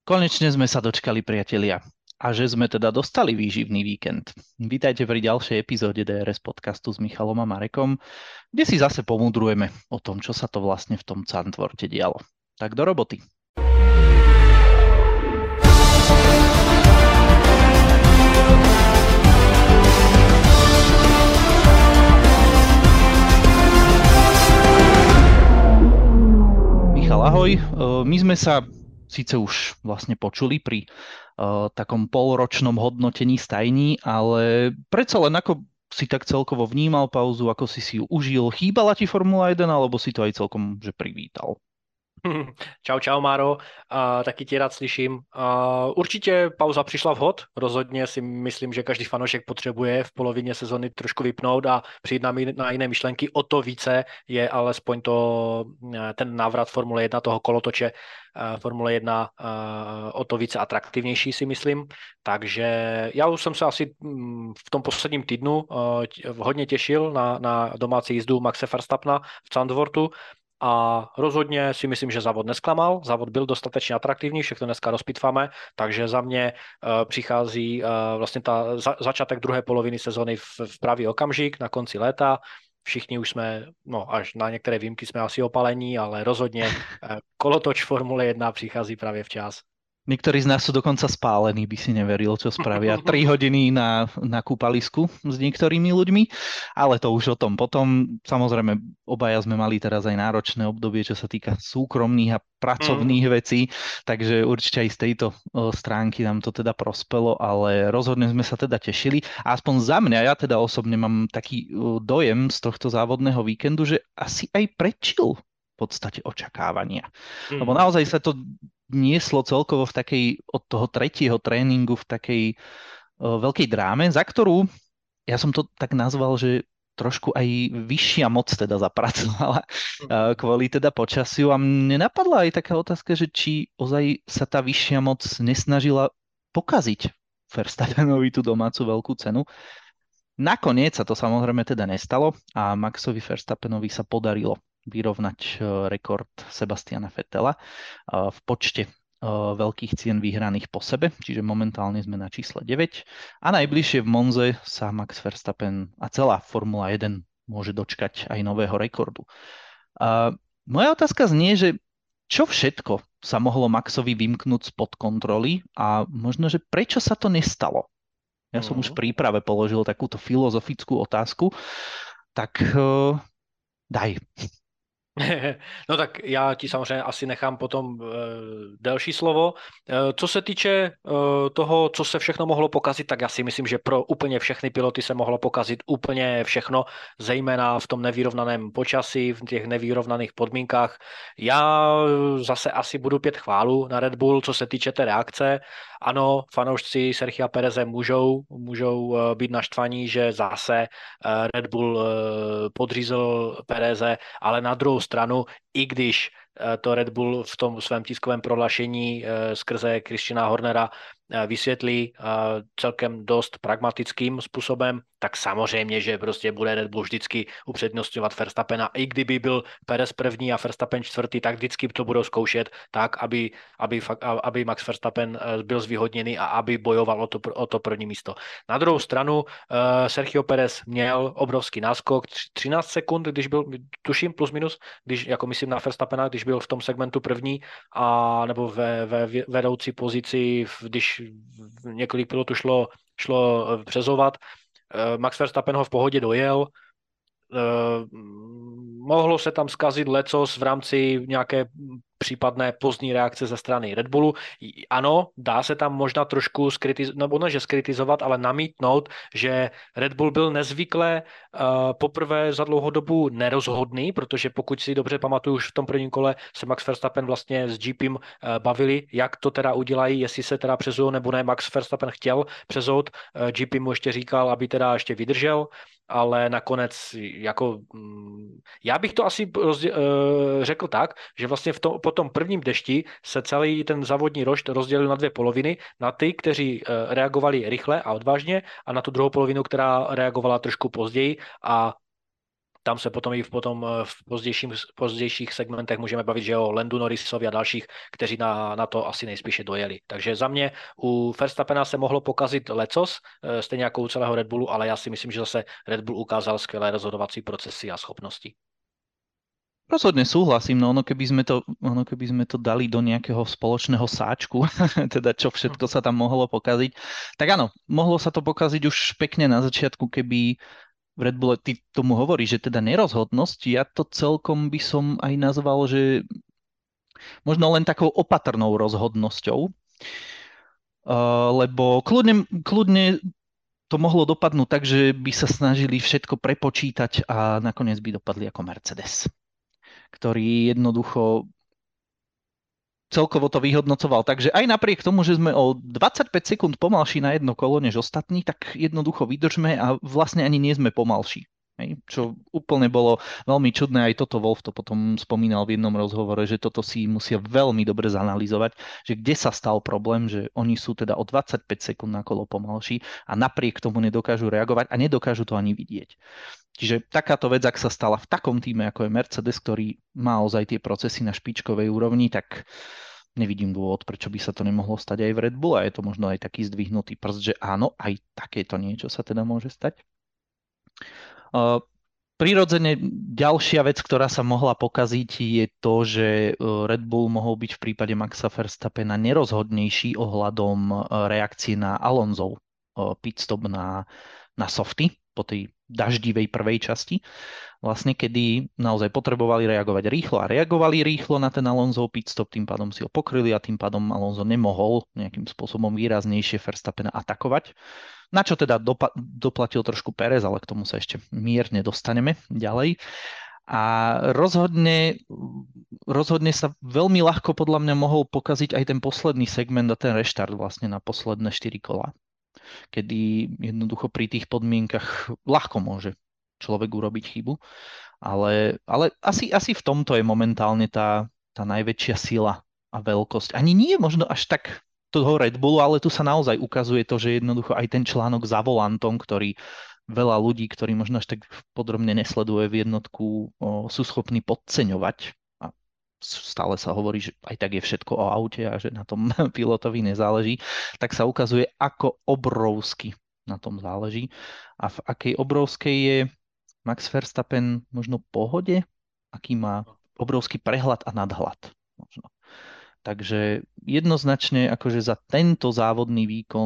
Konečne sme sa dočkali, priatelia. A že sme teda dostali výživný víkend. Vítajte pri ďalšej epizóde DRS podcastu s Michalom a Marekom, kde si zase pomudrujeme o tom, čo sa to vlastne v tom Zandvoorte dialo. Tak do roboty. Michal, ahoj. My sme sa síce už vlastne počuli pri takom polročnom hodnotení stajní, ale predsa len ako si tak celkovo vnímal pauzu, ako si ju užil? Chýbala ti Formula 1, alebo si to aj celkom že privítal? Čau, Máro, taky tě rád slyším. Určitě pauza přišla vhod, rozhodně si myslím, že každý fanoušek potřebuje v polovině sezony trošku vypnout a přijít na jiné myšlenky. O to více je alespoň ten návrat Formule 1, toho kolotoče Formule 1 o to více atraktivnější, si myslím. Takže já už jsem se asi v tom posledním týdnu hodně těšil na domácí jízdu Maxe Verstappena v Zandvoortu. A rozhodně si myslím, že závod nesklamal, závod byl dostatečně atraktivní, všechno dneska rozpitváme, takže za mě přichází vlastně začátek druhé poloviny sezony v pravý okamžik na konci léta. Všichni už jsme, až na některé výjimky jsme asi opalení, ale rozhodně kolotoč Formule 1 přichází právě včas. Niektorí z nás sú dokonca spálení, by si neveril, čo spravia 3 hodiny na kúpalisku s niektorými ľuďmi, ale to už o tom potom. Samozrejme, obaja sme mali teraz aj náročné obdobie, čo sa týka súkromných a pracovných vecí, takže určite aj z tejto stránky nám to teda prospelo, ale rozhodne sme sa teda tešili. A aspoň za mňa, ja teda osobne mám taký dojem z tohto závodného víkendu, že asi aj prečil v podstate očakávania. Lebo naozaj sa to nieslo celkovo v takej, od toho tretieho tréningu v takej veľkej dráme, za ktorú, ja som to tak nazval, že trošku aj vyššia moc teda zapracovala kvôli teda počasiu. A mne napadla aj taká otázka, že či ozaj sa tá vyššia moc nesnažila pokaziť Verstappenovi tú domácu veľkú cenu. Nakoniec sa to samozrejme teda nestalo a Maxovi Verstappenovi sa podarilo vyrovnať rekord Sebastiana Vettela v počte veľkých cien vyhraných po sebe, čiže momentálne sme na čísle 9 a najbližšie v Monze sa Max Verstappen a celá Formula 1 môže dočkať aj nového rekordu. Moja otázka znie, že čo všetko sa mohlo Maxovi vymknúť spod kontroly a možno, že prečo sa to nestalo? Ja som už v príprave položil takúto filozofickú otázku, tak daj. No tak já ti samozřejmě asi nechám potom delší slovo. Co se týče toho, co se všechno mohlo pokazit, tak já si myslím, že pro úplně všechny piloty se mohlo pokazit úplně všechno, zejména v tom nevyrovnaném počasí, v těch nevyrovnaných podmínkách. Já zase asi budu pět chválu na Red Bull, co se týče té reakce. Ano, fanoušci Sergia Pereze můžou být naštvaní, že zase Red Bull podřízl Pereze, ale na druhou stranu, i když to Red Bull v tom svém tiskovém prohlášení skrze Christiana Hornera vysvětlí celkem dost pragmatickým způsobem, tak samozřejmě, že prostě bude Red Bull vždycky upřednostňovat Verstappena. I kdyby byl Perez první a Verstappen čtvrtý, tak vždycky to budou zkoušet tak, aby Max Verstappen byl zvýhodněný a aby bojoval o to první místo. Na druhou stranu Sergio Perez měl obrovský náskok, 13 sekund, když byl, tuším plus minus, když, jako myslím na Verstappena, když byl v tom segmentu první a nebo ve vedoucí pozici, když několik pilotů šlo přezovat. Max Verstappen ho v pohodě dojel. Mohlo se tam zkazit lecos v rámci nějaké případné pozdní reakce ze strany Red Bullu. Ano, dá se tam možná trošku skritizovat, ale namítnout, že Red Bull byl nezvykle poprvé za dlouhou dobu nerozhodný, protože pokud si dobře pamatuju, už v tom prvním kole se Max Verstappen vlastně s GPem bavili, jak to teda udělají, jestli se teda přezou nebo ne. Max Verstappen chtěl přezout, GP mu ještě říkal, aby teda ještě vydržel, ale nakonec jako já bych to asi řekl tak, že vlastně po tom prvním dešti se celý ten závodní rošt rozdělil na dvě poloviny, na ty, kteří reagovali rychle a odvážně a na tu druhou polovinu, která reagovala trošku později a tam se potom i v pozdějších segmentech můžeme bavit, že o Landu Norrisovi a dalších, kteří na to asi nejspíše dojeli. Takže za mě u Verstappena se mohlo pokazit lecos, stejně jako u celého Red Bullu, ale já si myslím, že zase Red Bull ukázal skvělé rozhodovací procesy a schopnosti. Rozhodne súhlasím, no ono keby sme to dali do nejakého spoločného sáčku, teda čo všetko sa tam mohlo pokaziť, tak áno, mohlo sa to pokaziť už pekne na začiatku, keby v Red Bulle, ty tomu hovorí, že teda nerozhodnosť, ja to celkom by som aj nazval, že možno len takou opatrnou rozhodnosťou, lebo kľudne to mohlo dopadnúť tak, že by sa snažili všetko prepočítať a nakoniec by dopadli ako Mercedes, ktorý jednoducho celkovo to vyhodnocoval. Takže aj napriek tomu, že sme o 25 sekúnd pomalší na jedno kolo než ostatní, tak jednoducho vydržme a vlastne ani nie sme pomalší. Hej, čo úplne bolo veľmi čudné, aj toto Wolf to potom spomínal v jednom rozhovore, že toto si musia veľmi dobre zanalýzovať, že kde sa stal problém, že oni sú teda o 25 sekúnd na kolo pomalší a napriek tomu nedokážu reagovať a nedokážu to ani vidieť. Čiže takáto vec, ak sa stala v takom týme, ako je Mercedes, ktorý má ozaj tie procesy na špičkovej úrovni, tak nevidím dôvod, prečo by sa to nemohlo stať aj v Red Bull a je to možno aj taký zdvihnutý prst, že áno, aj takéto niečo sa teda môže stať. Prirodzene ďalšia vec, ktorá sa mohla pokaziť, je to, že Red Bull mohol byť v prípade Maxa Verstappena nerozhodnejší ohľadom reakcie na Alonsov pitstop na softy po tej daždivej prvej časti, vlastne kedy naozaj potrebovali reagovať rýchlo a reagovali rýchlo na ten Alonsov pitstop, tým pádom si ho pokryli a tým pádom Alonso nemohol nejakým spôsobom výraznejšie Verstappena atakovať. Na čo teda doplatil trošku Pérez, ale k tomu sa ešte mierne dostaneme ďalej. A rozhodne sa veľmi ľahko podľa mňa mohol pokaziť aj ten posledný segment a ten reštart vlastne na posledné 4 kola, kedy jednoducho pri tých podmienkach ľahko môže človek urobiť chybu. Ale asi v tomto je momentálne tá najväčšia sila a veľkosť. Ani nie možno až tak toho Red Bullu, ale tu sa naozaj ukazuje to, že jednoducho aj ten článok za volantom, ktorý veľa ľudí, ktorí možno až tak podrobne nesleduje v jednotku, sú schopní podceňovať. A stále sa hovorí, že aj tak je všetko o aute a že na tom pilotovi nezáleží, tak sa ukazuje, ako obrovsky na tom záleží. A v akej obrovskej je Max Verstappen možno pohode, aký má obrovský prehľad a nadhľad možno. Takže jednoznačne akože za tento závodný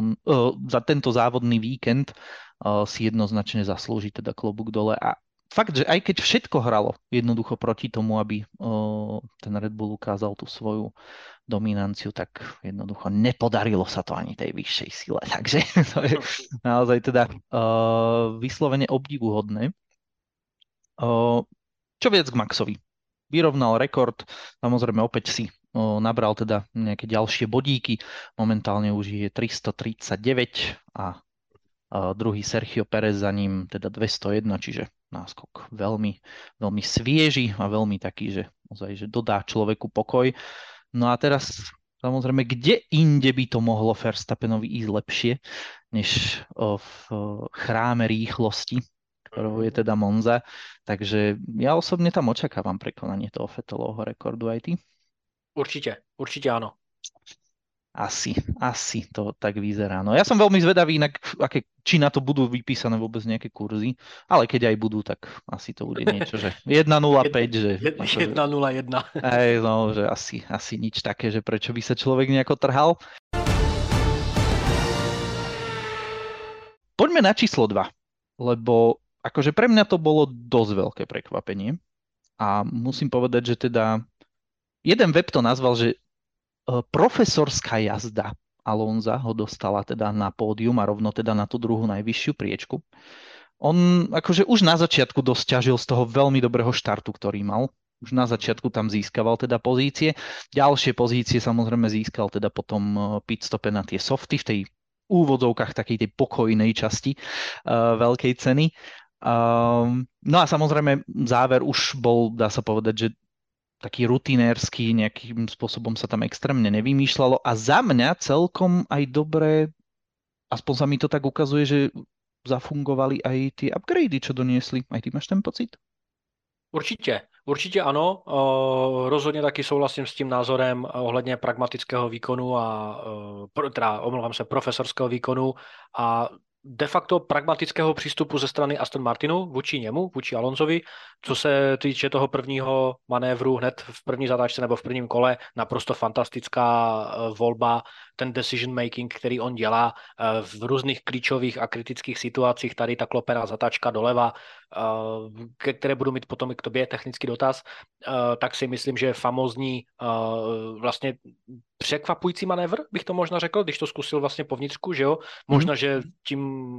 víkend si jednoznačne zaslúži teda klobúk dole. A fakt, že aj keď všetko hralo jednoducho proti tomu, aby ten Red Bull ukázal tú svoju dominanciu, tak jednoducho nepodarilo sa to ani tej vyššej sile. Takže to je naozaj teda vyslovene obdivuhodné. Čo viac k Maxovi? Vyrovnal rekord, samozrejme opäť si nabral teda nejaké ďalšie bodíky. Momentálne už je 339 a druhý Sergio Pérez za ním teda 201, čiže náskok veľmi, veľmi svieži a veľmi taký, že ozaj, že dodá človeku pokoj. No a teraz samozrejme, kde inde by to mohlo Verstappenovi ísť lepšie, než v chráme rýchlosti, ktorou je teda Monza. Takže ja osobne tam očakávam prekonanie toho Vettelovho rekordu, aj ty? Určite áno. Asi to tak vyzerá. No ja som veľmi zvedavý, inak, či na to budú vypísané vôbec nejaké kurzy, ale keď aj budú, tak asi to bude niečo, že 1.05, že... 1.01. No, že asi nič také, že prečo by sa človek nejako trhal. Poďme na číslo 2, lebo akože pre mňa to bolo dosť veľké prekvapenie a musím povedať, že teda jeden web to nazval, že profesorská jazda Alonza ho dostala teda na pódium a rovno teda na tú druhú najvyššiu priečku. On akože už na začiatku dosť ťažil z toho veľmi dobrého štartu, ktorý mal. Už na začiatku tam získaval teda pozície. Ďalšie pozície samozrejme získal teda potom pitstope na tie softy v tej úvodzovkách takej tej pokojnej časti veľkej ceny. No a samozrejme záver už bol, dá sa povedať, že taký rutinérsky, nejakým spôsobom sa tam extrémne nevymýšľalo a za mňa celkom aj dobre, aspoň sa mi to tak ukazuje, že zafungovali aj tie upgrady, čo doniesli. Aj ty máš ten pocit? Určitě ano. Rozhodně taky souhlasím s tím názorem ohledně pragmatického výkonu a omlouvám se, profesorského výkonu a de facto pragmatického přístupu ze strany Aston Martinu vůči němu, vůči Alonsovi. Co se týče toho prvního manévru hned v první zatáčce nebo v prvním kole, naprosto fantastická volba, ten decision making, který on dělá v různých klíčových a kritických situacích, tady ta klopená zatáčka doleva, ke které budu mít potom i k tobě technický dotaz, tak si myslím, že je famózní vlastně překvapující manévr, bych to možná řekl, když to zkusil vlastně po vnitřku, že jo? Možná, že tím,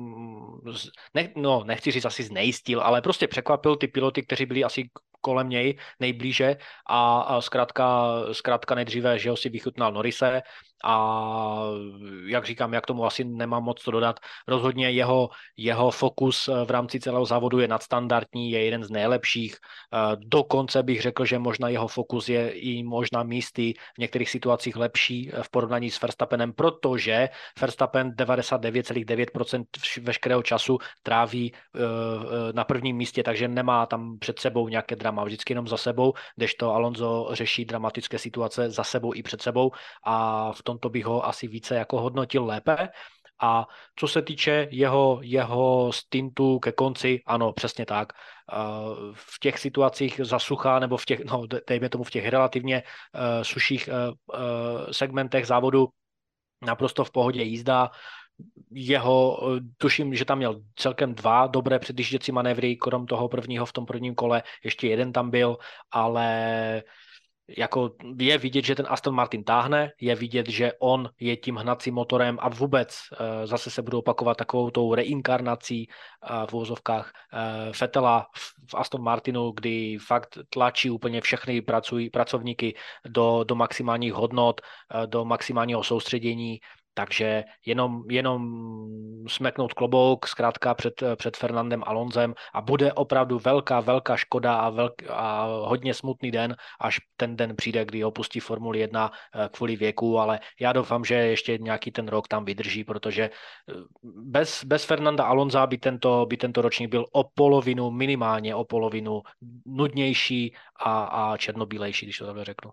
nechci říct asi znejistil, ale prostě překvapil ty piloty, kteří byli asi kolem něj nejblíže a zkrátka nejdříve, že ho si vychutnal Norrise a jak říkám, jak tomu asi nemám moc co dodat. Rozhodně jeho fokus v rámci celého závodu je nadstandardní, je jeden z nejlepších. Dokonce bych řekl, že možná jeho fokus je i možná místy v některých situacích lepší v porovnání s Verstappenem, protože Verstappen 99,9% veškerého času tráví na prvním místě, takže nemá tam před sebou nějaké drama, vždycky jenom za sebou, kdežto Alonso řeší dramatické situace za sebou i před sebou a v tomto bych ho asi více jako hodnotil lépe. A co se týče jeho stintu ke konci, ano, přesně tak. V těch situacích za sucha nebo v těch, dejme tomu v těch relativně suších segmentech závodu naprosto v pohodě jízda. Tuším, že tam měl celkem 2 dobré předjížděcí manévry, krom toho prvního v tom prvním kole, ještě jeden tam byl, ale jako je vidět, že ten Aston Martin táhne, je vidět, že on je tím hnacím motorem a vůbec zase se budou opakovat takovou tou reinkarnací v uvozovkách Vettela v Aston Martinu, kdy fakt tlačí úplně všechny pracovníky do maximálních hodnot, do maximálního soustředění. Takže jenom smeknout klobouk zkrátka před Fernandem Alonsem a bude opravdu velká škoda a hodně smutný den, až ten den přijde, kdy opustí Formuli 1 kvůli věku, ale já doufám, že ještě nějaký ten rok tam vydrží, protože bez Fernanda Alonsa by tento ročník byl minimálně o polovinu nudnější a černobílejší, když to takhle řeknu.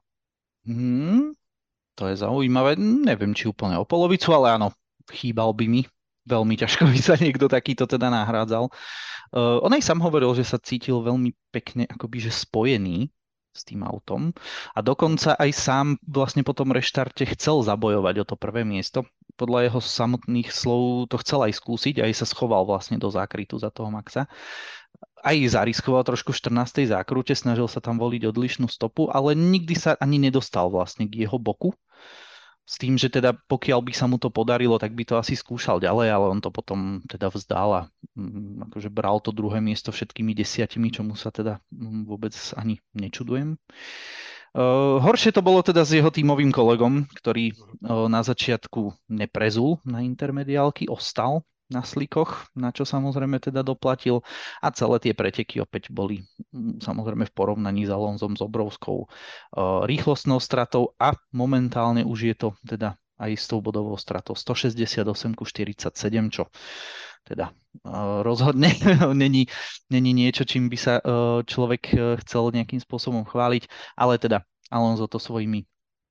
To je zaujímavé. Neviem, či úplne o polovicu, ale áno, chýbal by mi. Veľmi ťažko by sa niekto takýto teda nahrádzal. On aj sám hovoril, že sa cítil veľmi pekne akoby, že spojený s tým autom a dokonca aj sám vlastne po tom reštarte chcel zabojovať o to prvé miesto. Podľa jeho samotných slov to chcel aj skúsiť, aj sa schoval vlastne do zákrytu za toho Maxa. Aj zariskoval trošku v 14. zákrute, snažil sa tam voliť odlišnú stopu, ale nikdy sa ani nedostal vlastne k jeho boku. S tým, že teda pokiaľ by sa mu to podarilo, tak by to asi skúšal ďalej, ale on to potom teda vzdal a akože bral to druhé miesto všetkými 10, čomu sa teda vôbec ani nečudujem. Horšie to bolo teda s jeho tímovým kolegom, ktorý na začiatku neprezul na intermediálky, ostal na slikoch, na čo samozrejme teda doplatil a celé tie preteky opäť boli samozrejme v porovnaní s Alonsom s obrovskou rýchlostnou stratou a momentálne už je to teda aj s tou bodovou stratou 168-47, čo teda rozhodne není niečo, čím by sa človek chcel nejakým spôsobom chváliť, ale teda Alonso to svojimi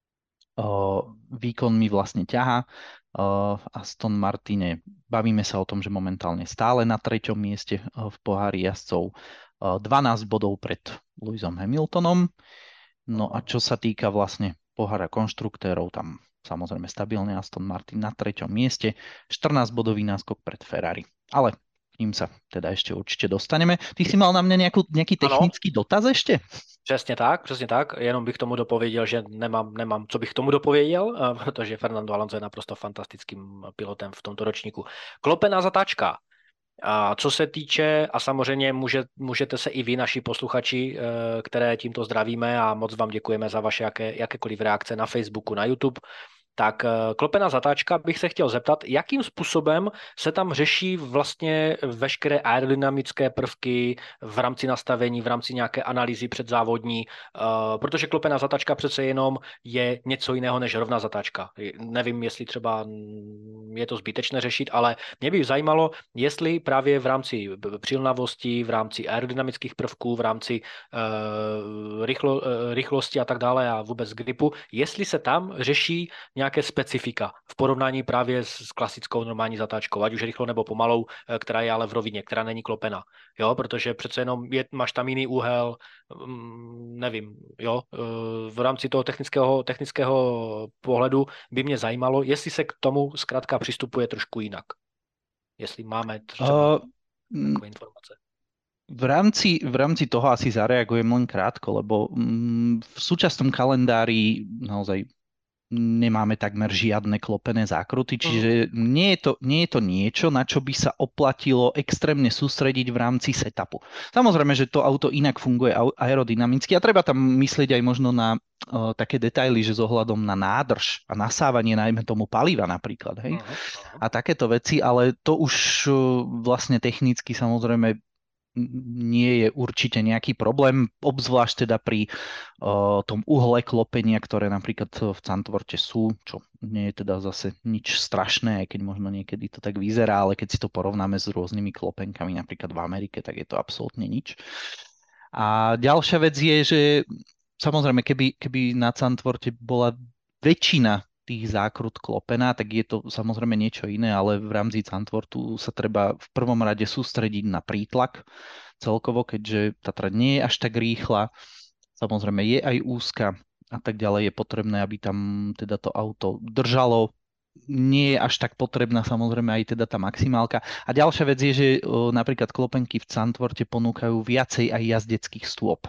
výkonmi vlastne ťahá. Aston Martine, bavíme sa o tom, že momentálne stále na 3. mieste v pohári jazdcov, 12 bodov pred Lewisom Hamiltonom. No a čo sa týka vlastne pohára konštruktérov, tam samozrejme stabilný Aston Martin na 3. mieste, 14-bodový náskok pred Ferrari. Ale k ním sa teda ešte určite dostaneme. Ty si mal na mňa nejaký technický dotaz ešte? Přesně tak. Jenom bych tomu dopověděl, že nemám, co bych tomu dopověděl, protože Fernando Alonso je naprosto fantastickým pilotem v tomto ročníku. Klopená zatáčka. A co se týče, a samozřejmě můžete se i vy, naši posluchači, které tímto zdravíme a moc vám děkujeme za vaše jakékoliv reakce na Facebooku, na YouTube, tak klopená zatáčka bych se chtěl zeptat, jakým způsobem se tam řeší vlastně veškeré aerodynamické prvky v rámci nastavení, v rámci nějaké analýzy předzávodní, protože klopená zatáčka přece jenom je něco jiného než rovná zatáčka. Nevím, jestli třeba je to zbytečné řešit, ale mě by zajímalo, jestli právě v rámci přilnavosti, v rámci aerodynamických prvků, v rámci rychlosti a tak dále a vůbec gripu, jestli se tam řeší nějaké specifika v porovnání právě s klasickou normální zatáčkou, ať už rychlou nebo pomalou, která je ale v rovině, která není klopena. Jo, protože přece jenom máš tam jiný úhel, nevím, jo, v rámci toho technického pohledu by mě zajímalo, jestli se k tomu zkrátka přistupuje trošku jinak. Jestli máme třeba takové informace. V rámci toho asi zareagujem len krátko, lebo v súčasnom kalendári naozaj nemáme takmer žiadne klopené zákruty, čiže nie je to niečo, na čo by sa oplatilo extrémne sústrediť v rámci setupu. Samozrejme, že to auto inak funguje aerodynamicky a treba tam myslieť aj možno na také detaily, že s ohľadom na nádrž a nasávanie najmä tomu paliva napríklad, hej? A takéto veci, ale to už vlastne technicky samozrejme nie je určite nejaký problém, obzvlášť teda pri tom uhle klopenia, ktoré napríklad v Zandvoorte sú, čo nie je teda zase nič strašné, aj keď možno niekedy to tak vyzerá, ale keď si to porovnáme s rôznymi klopenkami, napríklad v Amerike, tak je to absolútne nič. A ďalšia vec je, že samozrejme, keby na Zandvoorte bola väčšina tých zákrut klopená, tak je to samozrejme niečo iné, ale v rámci Zandvoortu sa treba v prvom rade sústrediť na prítlak celkovo, keďže tá trať nie je až tak rýchla, samozrejme je aj úzka a tak ďalej, je potrebné, aby tam teda to auto držalo. Nie je až tak potrebná samozrejme aj teda tá maximálka. A ďalšia vec je, že napríklad klopenky v Zandvoorte ponúkajú viacej aj jazdeckých stôp.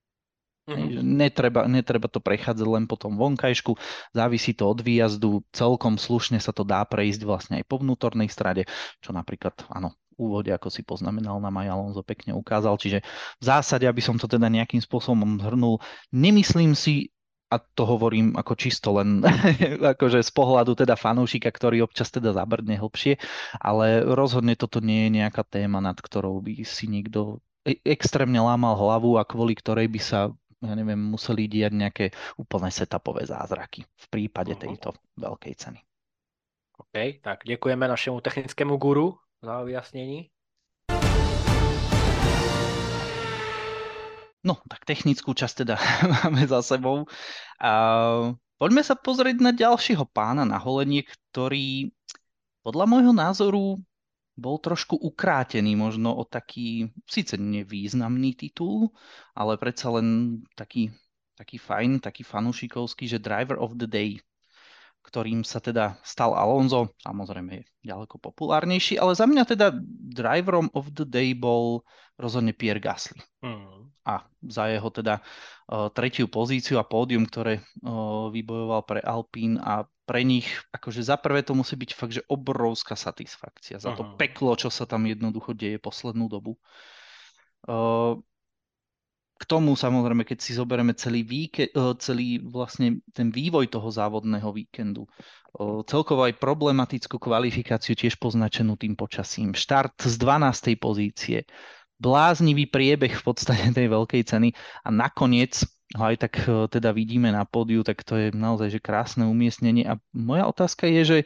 Netreba to prechádzať len po tom vonkajšku, závisí to od výjazdu, celkom slušne sa to dá prejsť vlastne aj po vnútornej strade, čo napríklad, áno, v úvode, ako si poznamenal, nám aj Alonso pekne ukázal, čiže v zásade, aby som to teda nejakým spôsobom zhrnul, nemyslím si, a to hovorím ako čisto len akože z pohľadu teda fanúšika, ktorý občas teda zabrdne hlbšie, ale rozhodne toto nie je nejaká téma, nad ktorou by si niekto extrémne lámal hlavu a kvôli ktorej by sa museli diať nejaké úplné setupové zázraky v prípade tejto veľkej ceny. OK, tak děkujeme našemu technickému guru za vyjasnení. No, tak technickú časť teda máme za sebou. A poďme sa pozrieť na ďalšieho pána na holenie, ktorý podľa môjho názoru bol trošku ukrátený možno o taký, síce nevýznamný titul, ale predsa len taký fajn, taký fanúšikovský, že Driver of the Day, ktorým sa teda stal Alonso, samozrejme je ďaleko populárnejší, ale za mňa teda Driverom of the Day bol rozhodne Pierre Gasly. A za jeho teda tretiu pozíciu a pódium, ktoré vybojoval pre Alpine a pre nich, akože za prvé to musí byť fakt, že obrovská satisfakcia za to peklo, čo sa tam jednoducho deje poslednú dobu. K tomu samozrejme, keď si zoberieme celý vlastne ten vývoj toho závodného víkendu, celkovo aj problematickú kvalifikáciu tiež poznačenú tým počasím, štart z 12. pozície, bláznivý priebeh v podstate tej veľkej ceny a nakoniec ho aj tak teda vidíme na pódiu, tak to je naozaj že krásne umiestnenie. A moja otázka je, že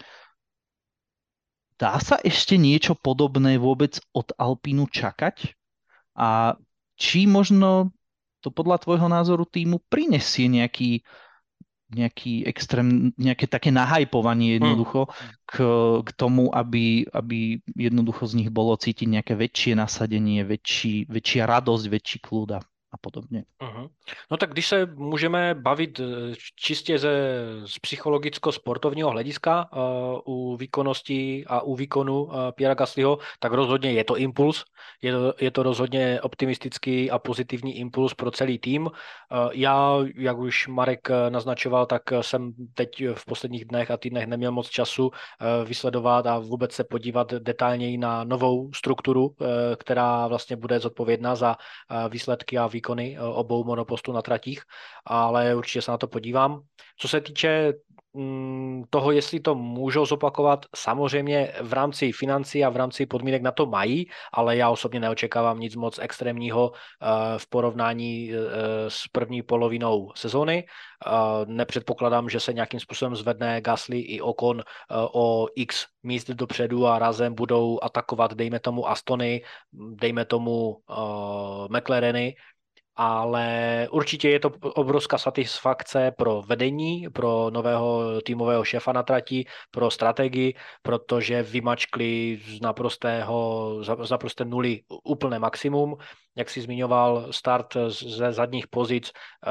dá sa ešte niečo podobné vôbec od Alpínu čakať? A či možno to podľa tvojho názoru týmu prinesie nejaký extrém, nejaké také nahajpovanie jednoducho k tomu, aby jednoducho z nich bolo cítiť nejaké väčšie nasadenie, väčšia radosť, väčší kľud a podobně. No tak když se můžeme bavit čistě z psychologicko-sportovního hlediska u výkonnosti a u výkonu Pierra Gaslyho, tak rozhodně je to impuls. Je to rozhodně optimistický a pozitivní impuls pro celý tým. Já, jak už Marek naznačoval, tak jsem teď v posledních dnech a týdnech neměl moc času vysledovat a vůbec se podívat detailněji na novou strukturu, která vlastně bude zodpovědná za výsledky a výkon výkony obou monopostů na tratích, ale určitě se na to podívám. Co se týče toho, jestli to můžou zopakovat, samozřejmě v rámci financí a v rámci podmínek na to mají, ale já osobně neočekávám nic moc extrémního v porovnání s první polovinou sezóny. Nepředpokládám, že se nějakým způsobem zvedne Gasly i Ocon o x míst dopředu a razem budou atakovat, dejme tomu Astony, dejme tomu McLareny, ale určitě je to obrovská satisfakce pro vedení, pro nového týmového šéfa na trati, pro strategii, protože vymačkli z naprosté nuly úplné maximum. Jak si zmiňoval, start ze zadních pozic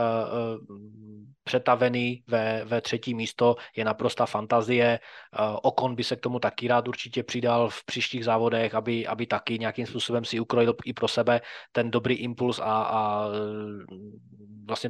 přetavený ve třetí místo je naprostá fantazie. Ocon by se k tomu taky rád určitě přidal v příštích závodech, aby taky nějakým způsobem si ukrojil i pro sebe ten dobrý impuls a vlastně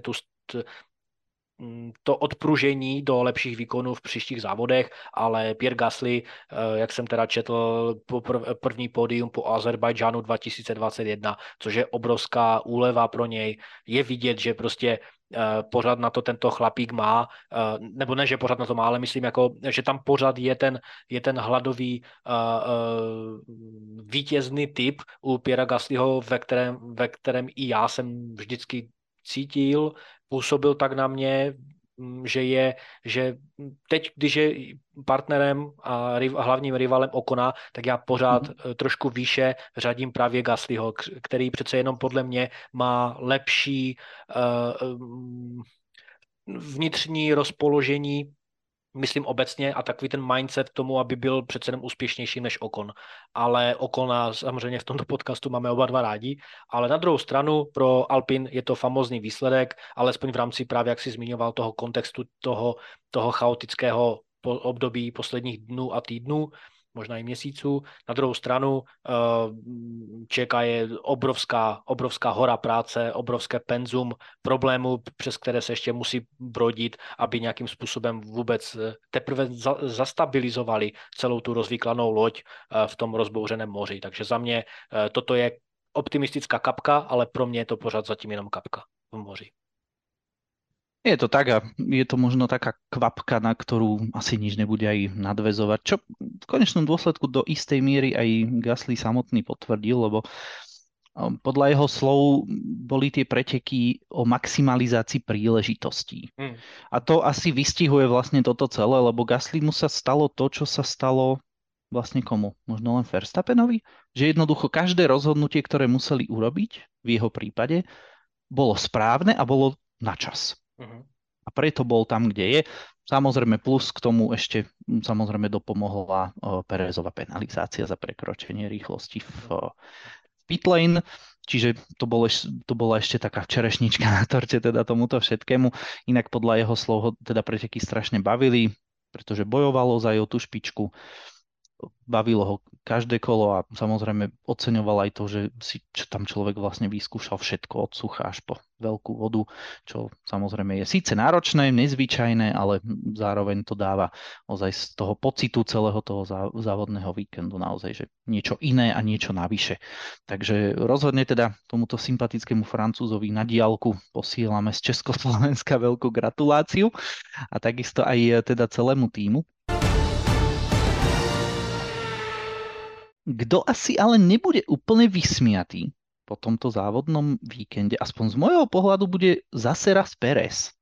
to odpružení do lepších výkonů v příštích závodech, ale Pierre Gasly, jak jsem teda četl, první pódium po Azerbajdžánu 2021, což je obrovská úleva pro něj. Je vidět, že prostě pořád na to tento chlapík má, nebo ne, že pořád na to má, ale myslím, jako, že tam pořád je ten hladový vítězný typ u Pierra Gaslyho, ve kterém i já jsem vždycky cítil, působil tak na mě, že teď, když je partnerem a hlavním rivalem Ocona, tak já pořád trošku výše řadím právě Gaslyho, který přece jenom podle mě má lepší vnitřní rozpoložení, myslím obecně, a takový ten mindset k tomu, aby byl přece jenom úspěšnější než Ocon. Ale Ocona samozřejmě v tomto podcastu máme oba dva rádi, ale na druhou stranu pro Alpine je to famózní výsledek, alespoň v rámci právě, jak si zmiňoval, toho kontextu toho chaotického období posledních dnů a týdnů, možná i měsíců. Na druhou stranu čeká je obrovská hora práce, obrovské penzum problémů, přes které se ještě musí brodit, aby nějakým způsobem vůbec teprve zastabilizovali celou tu rozvyklanou loď v tom rozbouřeném moři. Takže za mě toto je optimistická kapka, ale pro mě je to pořád zatím jenom kapka v moři. Je to tak a je to možno taká kvapka, na ktorú asi nič nebude aj nadväzovať, čo v konečnom dôsledku do istej miery aj Gasly samotný potvrdil, lebo podľa jeho slov boli tie preteky o maximalizácii príležitostí. A to asi vystihuje vlastne toto celé, lebo Gasly mu sa stalo to, čo sa stalo vlastne komu? Možno len Verstappenovi? Že jednoducho každé rozhodnutie, ktoré museli urobiť v jeho prípade, bolo správne a bolo na čas. A preto bol tam, kde je. Samozrejme plus k tomu ešte samozrejme dopomohla Perezova penalizácia za prekročenie rýchlosti v pit lane, čiže to bola ešte taká čerešnička na torte teda tomuto všetkému. Inak podľa jeho slov ho teda preteky strašne bavili, pretože bojovalo za tú špičku. Bavilo ho každé kolo a samozrejme oceňoval aj to, že si tam človek vlastne vyskúšal všetko od sucha až po veľkú vodu, čo samozrejme je síce náročné, nezvyčajné, ale zároveň to dáva ozaj z toho pocitu celého toho závodného víkendu naozaj, že niečo iné a niečo navyše. Takže rozhodne teda tomuto sympatickému Francúzovi na diaľku posielame z Československa veľkú gratuláciu a takisto aj teda celému tímu. Kto asi ale nebude úplne vysmiatý po tomto závodnom víkende, aspoň z môjho pohľadu, bude zase raz Perez.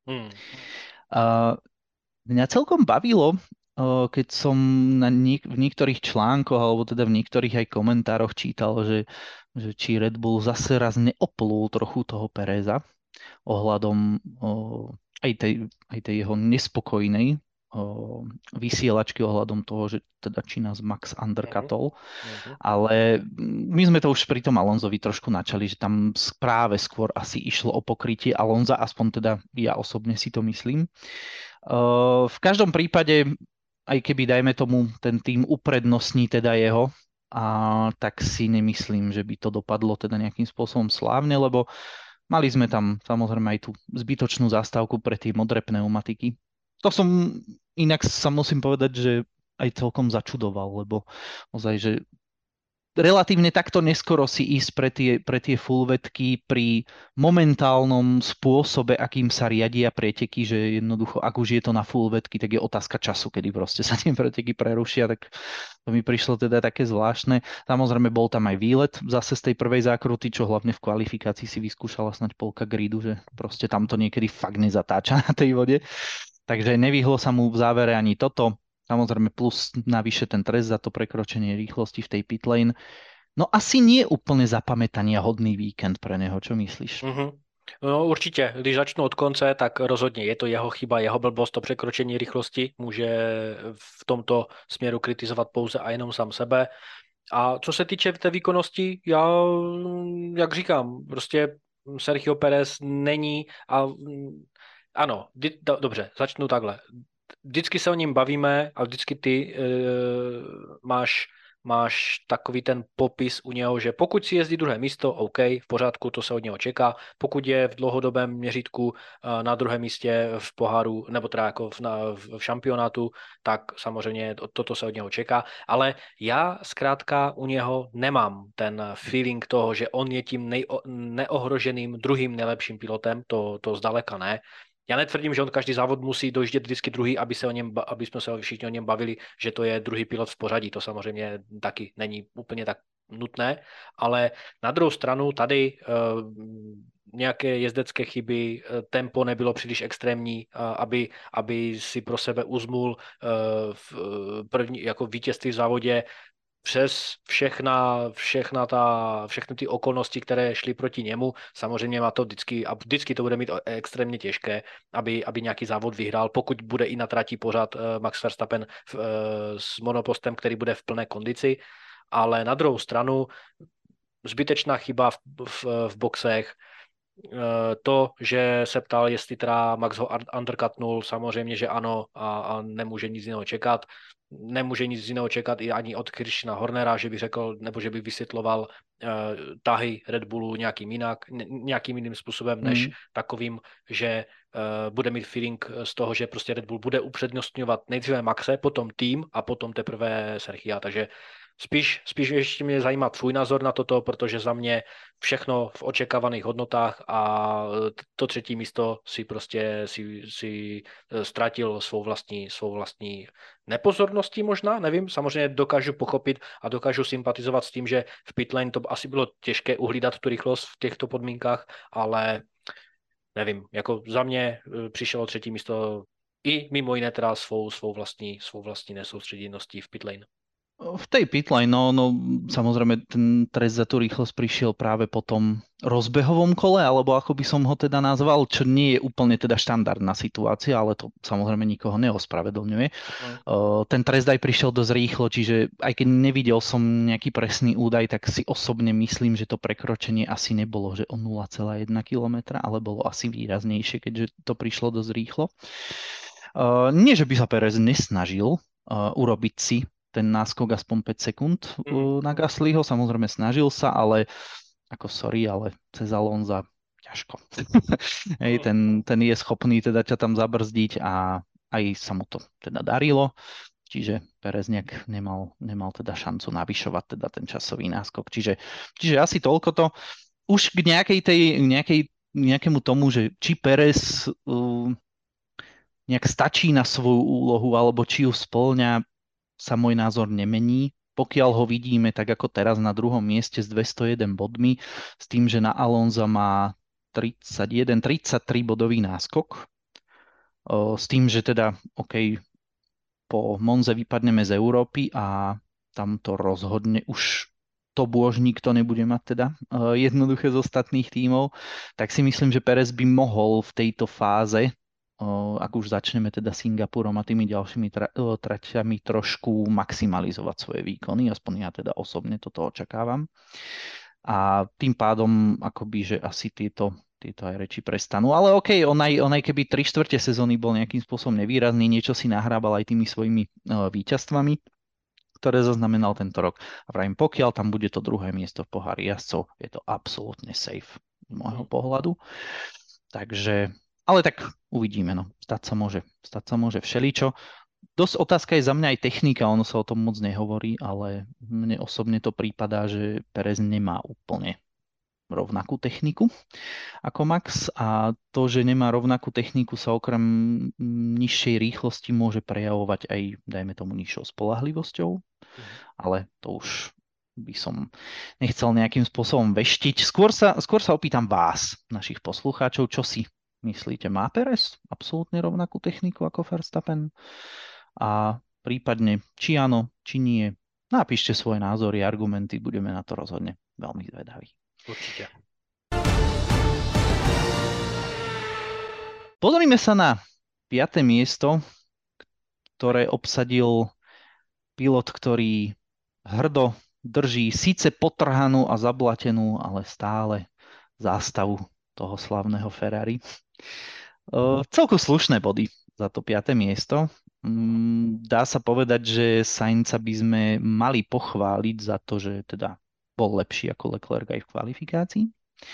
Mňa celkom bavilo, keď som v niektorých článkoch, alebo teda v niektorých aj komentároch čítal, že či Red Bull zase raz neoplul trochu toho Pereza ohľadom aj tej jeho nespokojnej vysielačky ohľadom toho, že teda či nás Max undercutol, ale my sme to už pri tom Alonsovi trošku načali, že tam práve skôr asi išlo o pokrytie Alonza, aspoň teda ja osobne si to myslím. V každom prípade, aj keby dajme tomu ten tým uprednostní teda jeho, tak si nemyslím, že by to dopadlo teda nejakým spôsobom slávne, lebo mali sme tam samozrejme aj tú zbytočnú zastávku pre tie modré pneumatiky. To som inak sa musím povedať, že aj celkom začudoval, lebo ozaj, že relatívne takto neskoro si ísť pre tie fullvetky pri momentálnom spôsobe, akým sa riadia preteky, že jednoducho, ak už je to na fullvetky, tak je otázka času, kedy proste sa tie preteky prerušia, tak to mi prišlo teda také zvláštne. Samozrejme, bol tam aj výlet zase z tej prvej zákruty, čo hlavne v kvalifikácii si vyskúšala snať polka gridu, že proste tam to niekedy fakt nezatáča na tej vode. Takže nevyhlo sa mu v závere ani toto. Samozrejme plus navyše ten trest za to prekročenie rýchlosti v tej pitlane. No asi nie úplne zapamätania hodný víkend pre neho, čo myslíš? Mhm. No určitě, když začnu od konce, tak rozhodně je to jeho chyba, jeho blbost, to překročení rychlosti. Může v tomto směru kritizovat pouze a jenom sám sebe. A co se týče té výkonnosti, já, jak říkám, prostě Sergio Pérez není a ano, dobře, začnu takhle. Vždycky se o něm bavíme a vždycky ty máš takový ten popis u něho, že pokud si jezdí druhé místo, OK, v pořádku, to se od něho čeká. Pokud je v dlouhodobém měřítku na druhém místě v poháru, nebo teda jako v šampionátu, tak samozřejmě toto se od něho čeká. Ale já zkrátka u něho nemám ten feeling toho, že on je tím neohroženým druhým nejlepším pilotem, to zdaleka ne. Já netvrdím, že on každý závod musí dojíždět vždycky druhý, aby jsme se všichni o něm bavili, že to je druhý pilot v pořadí. To samozřejmě taky není úplně tak nutné, ale na druhou stranu tady nějaké jezdecké chyby, tempo nebylo příliš extrémní, aby si pro sebe uzmul v první jako vítězství v závodě přes všechny ty okolnosti, které šly proti němu. Samozřejmě má to vždycky to bude mít extrémně těžké, aby nějaký závod vyhrál, pokud bude i na trati pořád Max Verstappen s monopostem, který bude v plné kondici. Ale na druhou stranu zbytečná chyba v boxech, to, že se ptal, jestli teda Max ho undercutnul, samozřejmě, že ano a nemůže nic jiného čekat. Nemůže nic jiného čekat i ani od Christiana Hornera, že by řekl, nebo že by vysvětloval tahy Red Bullu nějakým jiným způsobem, než takovým, že bude mít feeling z toho, že prostě Red Bull bude upřednostňovat nejdříve Maxe, potom tým a potom teprve Sergia. Takže spíš ještě mě zajímá tvůj názor na toto, protože za mě všechno v očekávaných hodnotách a to třetí místo si ztratil svou vlastní nepozorností možná, nevím, samozřejmě dokážu pochopit a dokážu sympatizovat s tím, že v pitlane to asi bylo těžké uhlídat tu rychlost v těchto podmínkách, ale nevím, jako za mě přišlo třetí místo i mimo jiné teda svou vlastní nesoustředěností v pitlane. V tej pitlane, no samozrejme ten trest za tú rýchlosť prišiel práve po tom rozbehovom kole, alebo ako by som ho teda nazval, čo nie je úplne teda štandardná situácia, ale to samozrejme nikoho neospravedlňuje. Ten trest aj prišiel dosť rýchlo, čiže aj keď nevidel som nejaký presný údaj, tak si osobne myslím, že to prekročenie asi nebolo, že o 0,1 km, ale bolo asi výraznejšie, keďže to prišlo dosť rýchlo. Nie, že by sa Perez nesnažil urobiť si ten náskok aspoň 5 sekúnd na Gaslyho, samozrejme snažil sa, ale ako sorry, ale cez Alonza ťažko. Hej, ten je schopný teda ťa tam zabrzdiť a aj sa mu to teda darilo, čiže Perez nejak nemal teda šancu navyšovať teda ten časový náskok. Čiže asi toľko to. Už k nejakému tomu, že či Perez nejak stačí na svoju úlohu, alebo či ju spĺňa, sa môj názor nemení. Pokiaľ ho vidíme tak ako teraz na druhom mieste s 201 bodmi, s tým, že na Alonza má 33 bodový náskok, s tým, že teda OK, po Monze vypadneme z Európy a tam to rozhodne už to bôž nikto nebude mať teda jednoduché z ostatných tímov, tak si myslím, že Perez by mohol v tejto fáze, ak už začneme teda Singapurom a tými ďalšími traťami trošku maximalizovať svoje výkony, aspoň ja teda osobne toto očakávam. A tým pádom akoby, že asi tieto aj reči prestanú. Ale OK, on aj keby 3/4 sezóny bol nejakým spôsobom nevýrazný, niečo si nahrábal aj tými svojimi víťazstvami, ktoré zaznamenal tento rok. A pravím, pokiaľ tam bude to druhé miesto v pohári jazdcov, je to absolútne safe z môjho pohľadu. Takže ale tak uvidíme, no. Stať sa môže všeličo. Dosť otázka je za mňa aj technika, ono sa o tom moc nehovorí, ale mne osobne to prípadá, že Perez nemá úplne rovnakú techniku ako Max a to, že nemá rovnakú techniku sa okrem nižšej rýchlosti môže prejavovať aj, dajme tomu, nižšou spoľahlivosťou, ale to už by som nechcel nejakým spôsobom veštiť. Skôr sa opýtam vás, našich poslucháčov, čo si myslíte? Má Perez absolútne rovnakú techniku ako Verstappen? A prípadne, či áno, či nie. Napíšte svoje názory, argumenty, budeme na to rozhodne veľmi zvedaví. Určite. Pozrime sa na 5. miesto, ktoré obsadil pilot, ktorý hrdo drží síce potrhanú a zablatenú, ale stále zástavu toho slavného Ferrari. Celku slušné body za to 5. miesto. Dá sa povedať, že Sainza by sme mali pochváliť za to, že teda bol lepší ako Leclerc aj v kvalifikácii.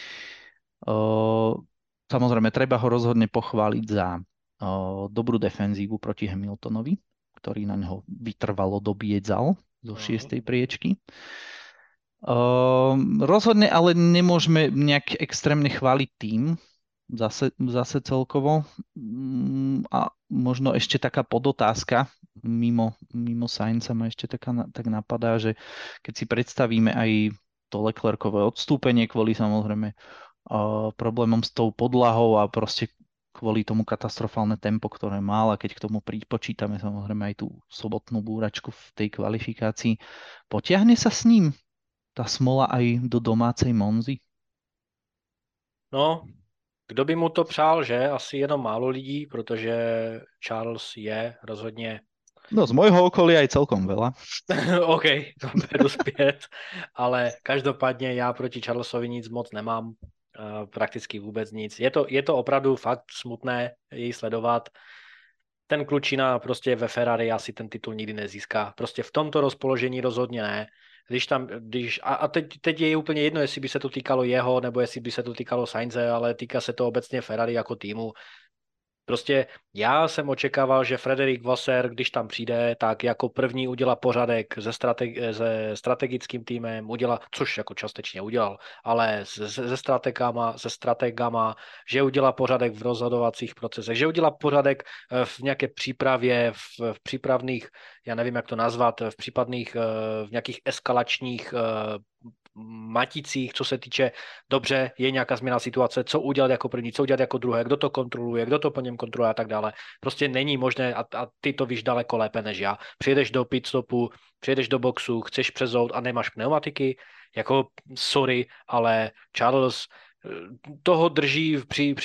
Samozrejme, treba ho rozhodne pochváliť za dobrú defenzívu proti Hamiltonovi, ktorý na ňo vytrvalo dobiedzal zo 6. priečky. Rozhodne ale nemôžeme nejak extrémne chváliť tým, zase celkovo. A možno ešte taká podotázka mimo Sainza ma ešte tak napadá, že keď si predstavíme aj to Leclercové odstúpenie kvôli samozrejme problémom s tou podlahou a proste kvôli tomu katastrofálne tempo, ktoré mal, a keď k tomu pripočítame samozrejme aj tú sobotnú búračku v tej kvalifikácii, potiahne sa s ním tá smola aj do domácej Monzy? No, kdo by mu to přál, že? Asi jenom málo lidí, protože Charles je rozhodně... No, z môjho okolia aj celkom veľa. OK, beru zpět, ale každopádně já proti Charlesovi nic moc nemám, prakticky vůbec nic. Je to opravdu fakt smutné jej sledovat. Ten klučina prostě ve Ferrari asi ten titul nikdy nezíská. Prostě v tomto rozpoložení rozhodně ne. A teď je úplně jedno, jestli by se to týkalo jeho, nebo jestli by se to týkalo Sainze, ale týká se to obecně Ferrari jako týmu. Prostě já jsem očekával, že Frederic Vasseur, když tam přijde, tak jako první udělá pořadek se strategickým týmem, což jako částečně udělal, ale se strategama, že udělá pořadek v rozhodovacích procesech, že udělá pořadek v nějaké přípravě, v přípravných, já nevím, jak to nazvat, v nějakých eskalačních maticích, co se týče, dobře, je nějaká změna situace, co udělat jako první, co udělat jako druhé, kdo to kontroluje, kdo to po něm kontroluje a tak dále. Prostě není možné, a ty to víš daleko lépe než já. Přijedeš do pitstopu, přijedeš do boxu, chceš přezout a nemáš pneumatiky, jako sorry, ale Charles toho drží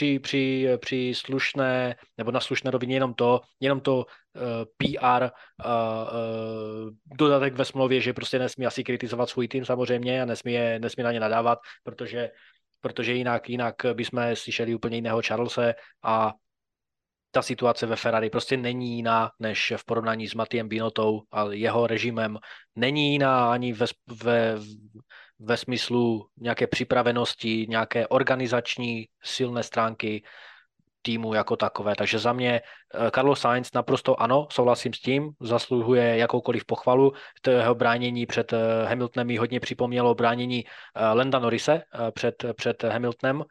při slušné, nebo na slušné rovině jenom to PR dodatek ve smlouvě, že prostě nesmí asi kritizovat svůj tým samozřejmě a nesmí na ně nadávat, protože jinak bychom slyšeli úplně jiného Charlese a ta situace ve Ferrari prostě není jiná než v porovnání s Mattiem Binottou a jeho režimem. Není jiná ani ve smyslu nějaké připravenosti, nějaké organizační silné stránky týmu jako takové. Takže za mě Carlos Sainz naprosto ano, souhlasím s tím, zasluhuje jakoukoliv pochvalu. To jeho bránění před Hamiltonem mi hodně připomnělo bránění Landa Norrise před Hamiltonem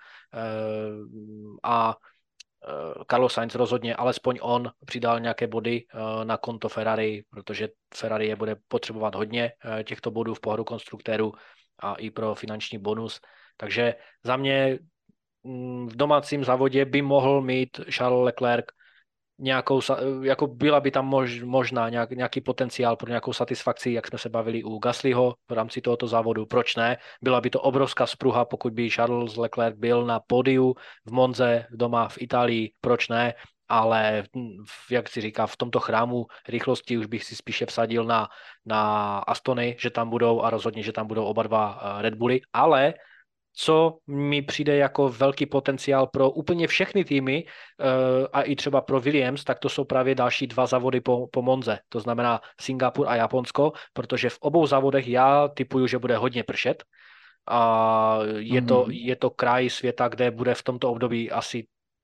a Carlos Sainz rozhodně, alespoň on přidal nějaké body na konto Ferrari, protože Ferrari je bude potřebovat hodně těchto bodů v pohodu konstruktérů a i pro finanční bonus. Takže za mě v domácím závodě by mohl mít Charles Leclerc jako byla by tam možná nějaký potenciál pro nějakou satisfakci, jak jsme se bavili u Gaslyho v rámci tohoto závodu. Proč ne? Byla by to obrovská spruha, pokud by Charles Leclerc byl na pódiu v Monze doma v Itálii. Proč ne? Ale jak si říká, v tomto chrámu rychlosti už bych si spíše vsadil na Astony, že tam budou a rozhodně, že tam budou oba dva Red Bully, ale co mi přijde jako velký potenciál pro úplně všechny týmy a i třeba pro Williams, tak to jsou právě další 2 závody po Monze. To znamená Singapur a Japonsko, protože v obou závodech já tipuju, že bude hodně pršet. A je to kraj světa, kde bude v tomto období asi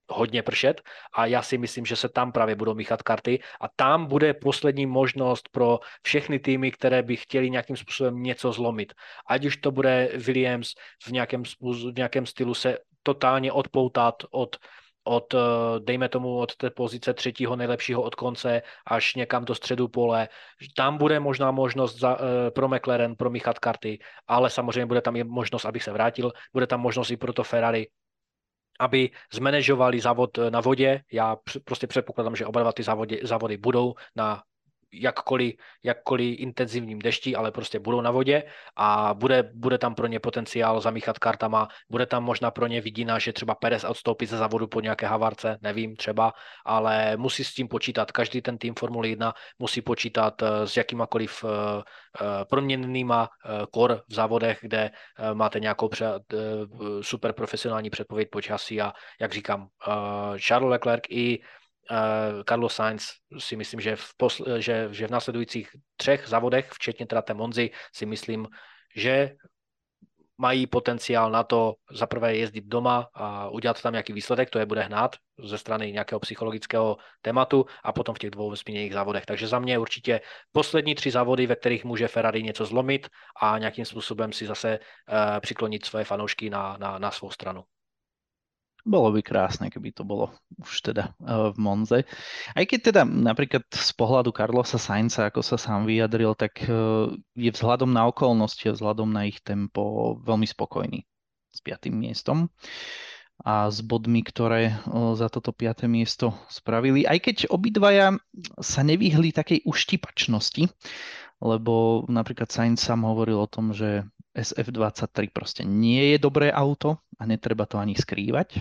hodně pršet a já si myslím, že se tam právě budou míchat karty a tam bude poslední možnost pro všechny týmy, které by chtěli nějakým způsobem něco zlomit. Ať už to bude Williams v nějakém stylu se totálně odpoutat dejme tomu, od té pozice třetího nejlepšího od konce až někam do středu pole. Tam bude možná možnost pro McLaren promíchat karty, ale samozřejmě bude tam i možnost, abych se vrátil, bude tam možnost i pro to Ferrari, aby zmanéžovali závod na vodě. Já prostě předpokládám, že oba dva ty závody budou na jakkoliv intenzivním dešti, ale prostě budou na vodě a bude tam pro ně potenciál zamíchat kartama, bude tam možná pro ně vidina, že třeba Perez odstoupí ze závodu po nějaké havarce, nevím, třeba, ale musí s tím počítat. Každý ten tým Formule 1 musí počítat s jakýmakoliv proměnnýma kor v závodech, kde máte nějakou super profesionální předpověď počasí a jak říkám, Charles Leclerc i Carlos Sainz si myslím, že v následujících 3 závodech, včetně teda té Monzy, si myslím, že mají potenciál na to zaprvé jezdit doma a udělat tam nějaký výsledek, to je bude hnát ze strany nějakého psychologického tématu a potom v těch 2 zmíněných závodech. Takže za mě určitě poslední 3 závody, ve kterých může Ferrari něco zlomit a nějakým způsobem si zase přiklonit svoje fanoušky na svou stranu. Bolo by krásne, keby to bolo už teda v Monze. Aj keď teda napríklad z pohľadu Carlosa Sainza, ako sa sám vyjadril, tak je vzhľadom na okolnosti a vzhľadom na ich tempo veľmi spokojný s 5. miestom a s bodmi, ktoré za toto 5. miesto spravili. Aj keď obidvaja sa nevyhli takej uštipačnosti, lebo napríklad Sainz sám hovoril o tom, že SF23 proste nie je dobré auto a netreba to ani skrývať.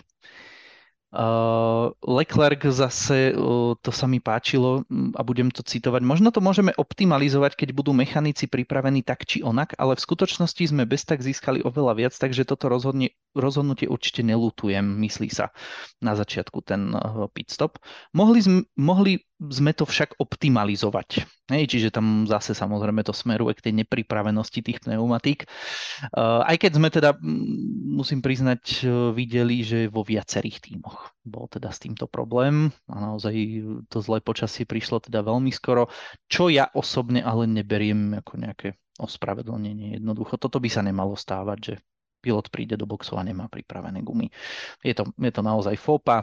Leclerc zase, to sa mi páčilo a budem to citovať, možno to môžeme optimalizovať, keď budú mechanici pripravení tak či onak, ale v skutočnosti sme bez tak získali oveľa viac, takže toto rozhodnutie určite neľutujem, myslí sa na začiatku ten pit stop. Mohli sme to však optimalizovať. Čiže tam zase samozrejme to smeruje k tej nepripravenosti tých pneumatík. Aj keď sme teda, musím priznať, videli, že vo viacerých tímoch bol teda s týmto problém a naozaj to zlé počasie prišlo teda veľmi skoro, čo ja osobne ale neberiem ako nejaké ospravedlnenie. Jednoducho toto by sa nemalo stávať, že pilot príde do boxu a nemá pripravené gumy. Je to naozaj fópa.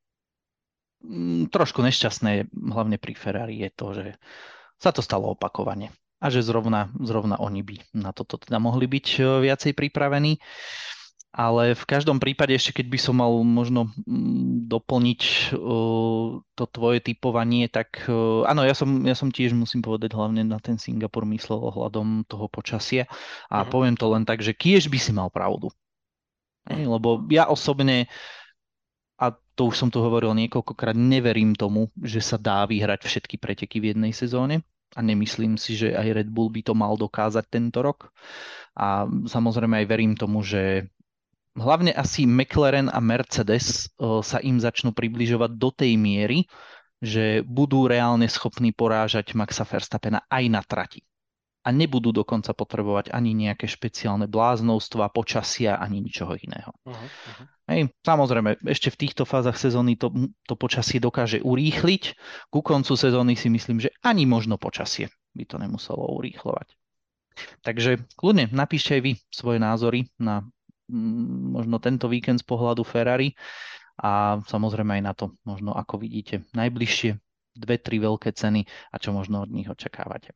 Trošku nešťastné, hlavne pri Ferrari, je to, že sa to stalo opakovane a že zrovna oni by na toto teda mohli byť viacej pripravení. Ale v každom prípade, ešte keď by som mal možno doplniť to tvoje typovanie, tak áno, ja som tiež, musím povedať, hlavne na ten Singapur myslel ohľadom toho počasia a poviem to len tak, že kiež by si mal pravdu. Lebo ja osobne, a to už som tu hovoril niekoľkokrát, neverím tomu, že sa dá vyhrať všetky preteky v jednej sezóne a nemyslím si, že aj Red Bull by to mal dokázať tento rok. A samozrejme aj verím tomu, že hlavne asi McLaren a Mercedes sa im začnú približovať do tej miery, že budú reálne schopní porážať Maxa Verstappena aj na trati. A nebudú dokonca potrebovať ani nejaké špeciálne bláznovstva, počasia, ani ničoho iného. Samozrejme, ešte v týchto fázach sezóny to počasie dokáže urýchliť. Ku koncu sezóny si myslím, že ani možno počasie by to nemuselo urýchlovať. Takže kľudne napíšte aj vy svoje názory na možno tento víkend z pohľadu Ferrari a samozrejme aj na to, možno ako vidíte najbližšie 2-3 veľké ceny a čo možno od nich očakávate.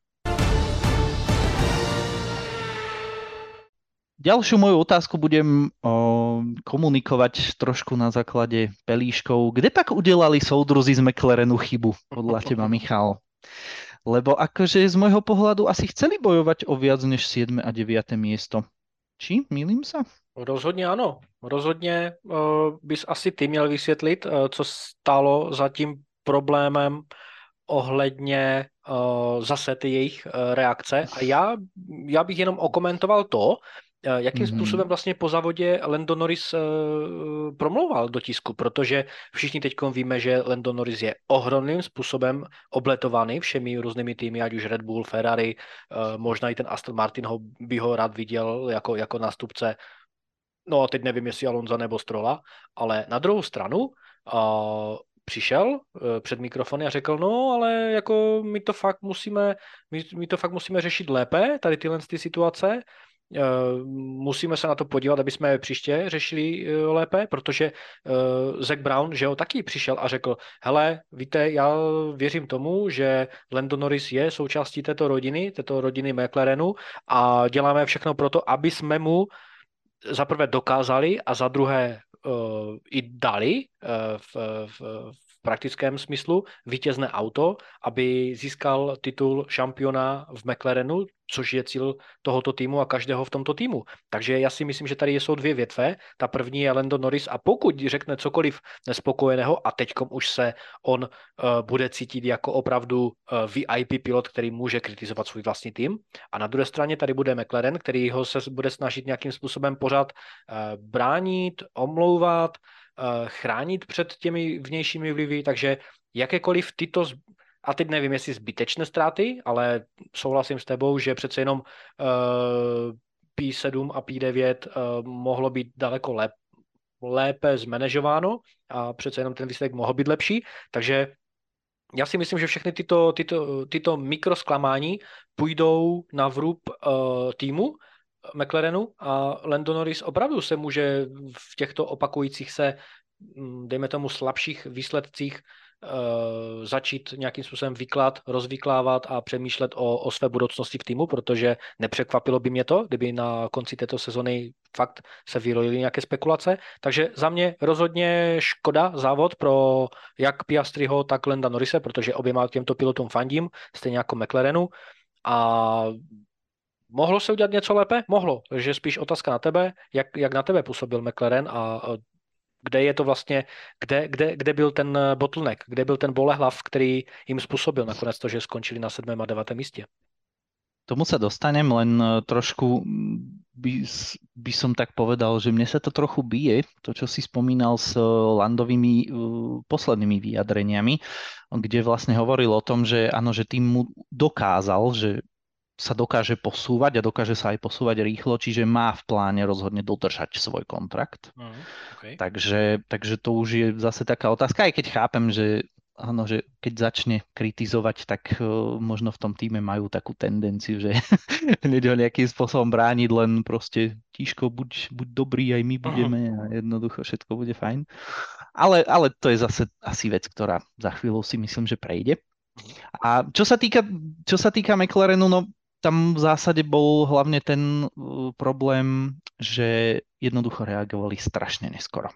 Ďalšiu moju otázku budem komunikovať trošku na základe pelíškov. Kde pak udelali soudruzi z McLarenu chybu, podľa teba, Michal? Lebo akože z môjho pohľadu asi chceli bojovať o viac než 7. a 9. miesto. Či? Mýlim sa? Rozhodně ano. Rozhodně bys asi ty měl vysvětlit, co stálo za tím problémem ohledně zase ty jejich reakce. A já bych jenom okomentoval to, jakým způsobem vlastně po závodě Lando Norris promlouval do tisku, protože všichni teď víme, že Lando Norris je ohromným způsobem obletovaný všemi různými týmy, ať už Red Bull, Ferrari, možná i ten Aston Martin by ho rád viděl jako nástupce. No a teď nevím, jestli Alonza nebo Strolla, ale na druhou stranu přišel před mikrofony a řekl, no, ale jako my to fakt musíme řešit lépe, tady tyhle ty situace. Musíme se na to podívat, aby jsme příště řešili lépe, protože Zac Brown, že jo, taky přišel a řekl, hele, víte, já věřím tomu, že Lando Norris je součástí této rodiny McLarenu a děláme všechno pro to, aby jsme mu za prvé dokázali a za druhé i dali v praktickém smyslu vítězné auto, aby získal titul šampiona v McLarenu, což je cíl tohoto týmu a každého v tomto týmu. Takže já si myslím, že tady jsou dvě větve. Ta první je Lando Norris a pokud řekne cokoliv nespokojeného a teďkom už se on bude cítit jako opravdu VIP pilot, který může kritizovat svůj vlastní tým. A na druhé straně tady bude McLaren, který ho se bude snažit nějakým způsobem pořád bránit, omlouvat, chránit před těmi vnějšími vlivy, takže jakékoliv tyto, a teď nevím, jestli zbytečné ztráty, ale souhlasím s tebou, že přece jenom P7 a P9 mohlo být daleko lépe zmanéžováno a přece jenom ten výsledek mohl být lepší, takže já si myslím, že všechny tyto mikrozklamání půjdou na vrub týmu McLarenu a Lando Norris opravdu se může v těchto opakujících se, dejme tomu, slabších výsledcích začít nějakým způsobem rozvyklávat a přemýšlet o své budoucnosti v týmu, protože nepřekvapilo by mě to, kdyby na konci této sezony fakt se vyrojily nějaké spekulace. Takže za mě rozhodně škoda závod pro jak Piastriho, tak Landa Norrise, protože oběma těmto pilotům fandím, stejně jako McLarenu. A mohlo se udělat něco lépe? Mohlo. Takže spíš otázka na tebe, jak na tebe působil McLaren a kde je to vlastně, kde byl ten bottleneck, kde byl ten bolehlav, který jim způsobil nakonec to, že skončili na 7. a 9. místě. Tomu sa dostanem, len trošku by som tak povedal, že mne sa to trochu bije, to, čo si spomínal s Landovými poslednými vyjadreniami, kde vlastne hovoril o tom, že áno, že tým mu dokázal, že sa dokáže posúvať a dokáže sa aj posúvať rýchlo, čiže má v pláne rozhodne dodržať svoj kontrakt. Okay. Takže to už je zase taká otázka, aj keď chápem, že áno, že keď začne kritizovať, tak možno v tom týme majú takú tendenciu, že hneď ho nejakým spôsobom brániť, len proste tíško, buď dobrý, aj my budeme a jednoducho všetko bude fajn. Ale to je zase asi vec, ktorá za chvíľu si myslím, že prejde. A čo sa týka McLarenu, no tam v zásade bol hlavne ten problém, že jednoducho reagovali strašne neskoro.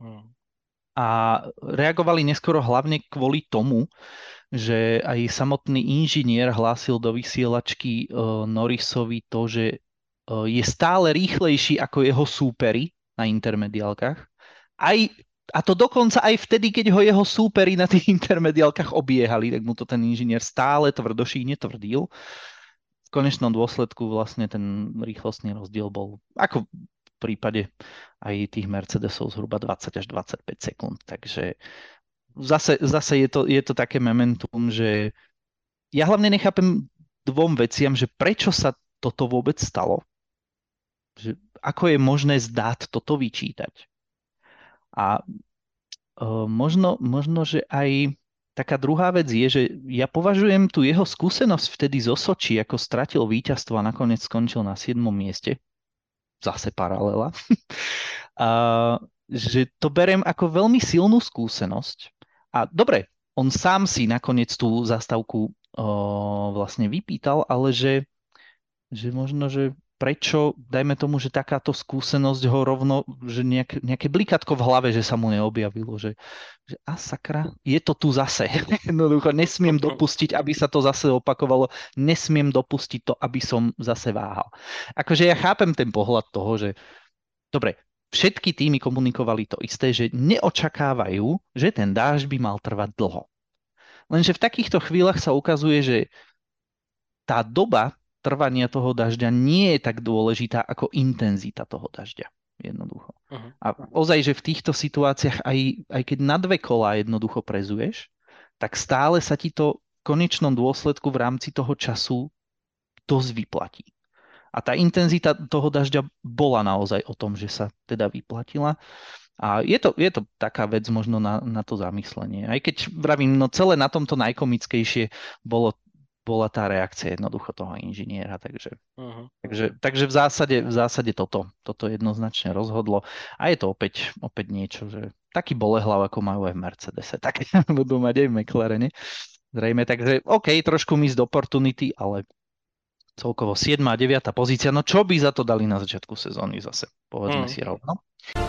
A reagovali neskoro hlavne kvôli tomu, že aj samotný inžinier hlásil do vysielačky Norrisovi to, že je stále rýchlejší ako jeho súperi na intermediálkach. A to dokonca aj vtedy, keď ho jeho súperi na tých intermediálkach obiehali, tak mu to ten inžinier stále tvrdošíjne tvrdil. V konečnom dôsledku vlastne ten rýchlostný rozdiel bol, ako v prípade aj tých Mercedesov, zhruba 20 až 25 sekúnd. Takže zase je to také momentum, že ja hlavne nechápem dvom veciam, že prečo sa toto vôbec stalo. Že ako je možné zdať toto vyčítať. A možno, že aj taká druhá vec je, že ja považujem tú jeho skúsenosť vtedy zo Soči, ako stratil víťazstvo a nakoniec skončil na 7. mieste. Zase paralela. Že to beriem ako veľmi silnú skúsenosť. A dobre, on sám si nakoniec tú zastávku vlastne vypýtal, ale že možno, že prečo, dajme tomu, že takáto skúsenosť ho rovno, že nejaké blikatko v hlave, že sa mu neobjavilo, že a sakra, je to tu zase. Jednoducho, nesmiem dopustiť, aby sa to zase opakovalo, nesmiem dopustiť to, aby som zase váhal. Akože ja chápem ten pohľad toho, že dobre, všetky týmy komunikovali to isté, že neočakávajú, že ten dážď by mal trvať dlho. Lenže v takýchto chvíľach sa ukazuje, že tá doba trvania toho dažďa nie je tak dôležitá ako intenzita toho dažďa. Jednoducho. A ozaj, že v týchto situáciách, aj keď na 2 kolá jednoducho prezuješ, tak stále sa ti to v konečnom dôsledku v rámci toho času dosť vyplatí. A tá intenzita toho dažďa bola naozaj o tom, že sa teda vyplatila. A je to taká vec možno na to zamyslenie. Aj keď vravím, no celé na tomto najkomickejšie bola tá reakcia jednoducho toho inžiniera, takže v zásade toto jednoznačne rozhodlo a je to opäť niečo, že taký bolehlav, ako majú aj v Mercedese, tak budú mať aj v McLarene. Zrejme, takže OK, trošku missed opportunity, ale celkovo 7. a 9. pozícia. No čo by za to dali na začiatku sezóny zase? Povedzme si rovno.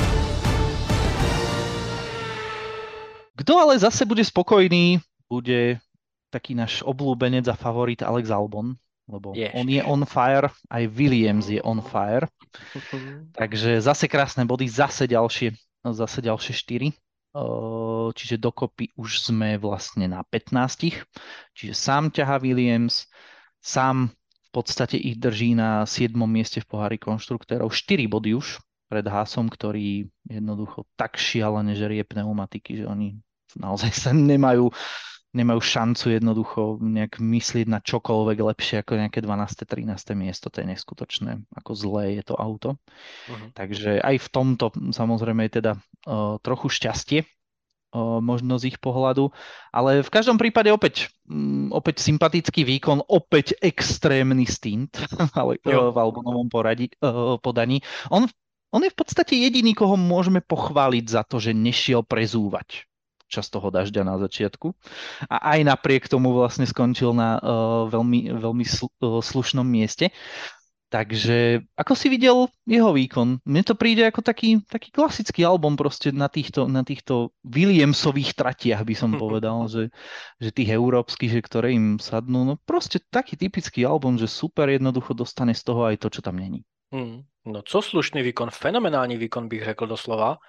Kto ale zase bude spokojný, bude taký náš obľúbenec a favorit Alex Albon, lebo on je on fire, aj Williams je on fire. Takže zase krásne body, zase ďalšie 4. Čiže dokopy už sme vlastne na 15. Čiže sám ťahá Williams, sám v podstate ich drží na 7. mieste v pohári konštruktérov. 4 body už pred Haasom, ktorý jednoducho tak šialene žerie pneumatiky, že oni naozaj sa nemajú šancu jednoducho nejak myslieť na čokoľvek lepšie ako nejaké 12. 13. miesto. To je neskutočné, ako zlé je to auto. Takže aj v tomto samozrejme je teda trochu šťastie, možno z ich pohľadu, ale v každom prípade opäť sympatický výkon, opäť extrémny stint ale v Albonovom podaní. On je v podstate jediný, koho môžeme pochváliť za to, že nešiel prezúvať čas toho dažďa na začiatku. A aj napriek tomu vlastne skončil na veľmi slušnom mieste. Takže ako si videl jeho výkon? Mne to príde ako taký klasický album proste na týchto Williamsových tratiach by som povedal, že tých európskych, že ktoré im sadnú, no proste taký typický album, že super jednoducho dostane z toho aj to, čo tam není. No co slušný výkon, fenomenální výkon bych řekl doslova.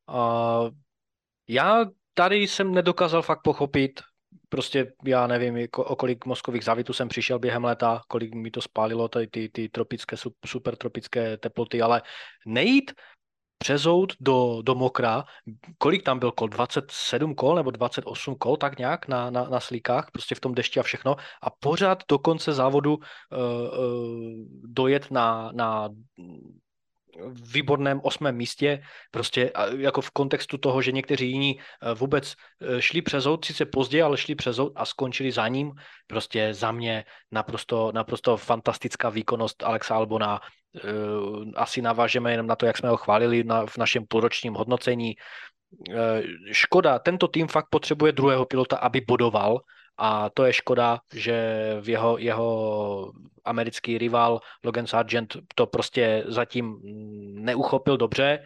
Já tady jsem nedokázal fakt pochopit, prostě já nevím, o kolik mozkových závitů jsem přišel během léta, kolik mi to spálilo ty tropické, super tropické teploty, ale nejít přezout do mokra, kolik tam byl kol, 27 kol nebo 28 kol, tak nějak na slíkách, prostě v tom dešti a všechno a pořád do konce závodu dojet na výborném 8. místě, prostě jako v kontextu toho, že někteří jiní vůbec šli přezout, sice pozdě, ale šli přezout a skončili za ním. Prostě za mě naprosto fantastická výkonnost Alexa Albona. Asi navážeme jenom na to, jak jsme ho chválili v našem půlročním hodnocení. Škoda, tento tým fakt potřebuje druhého pilota, aby bodoval, a to je škoda, že v jeho americký rival Logan Sargent to prostě zatím neuchopil dobře.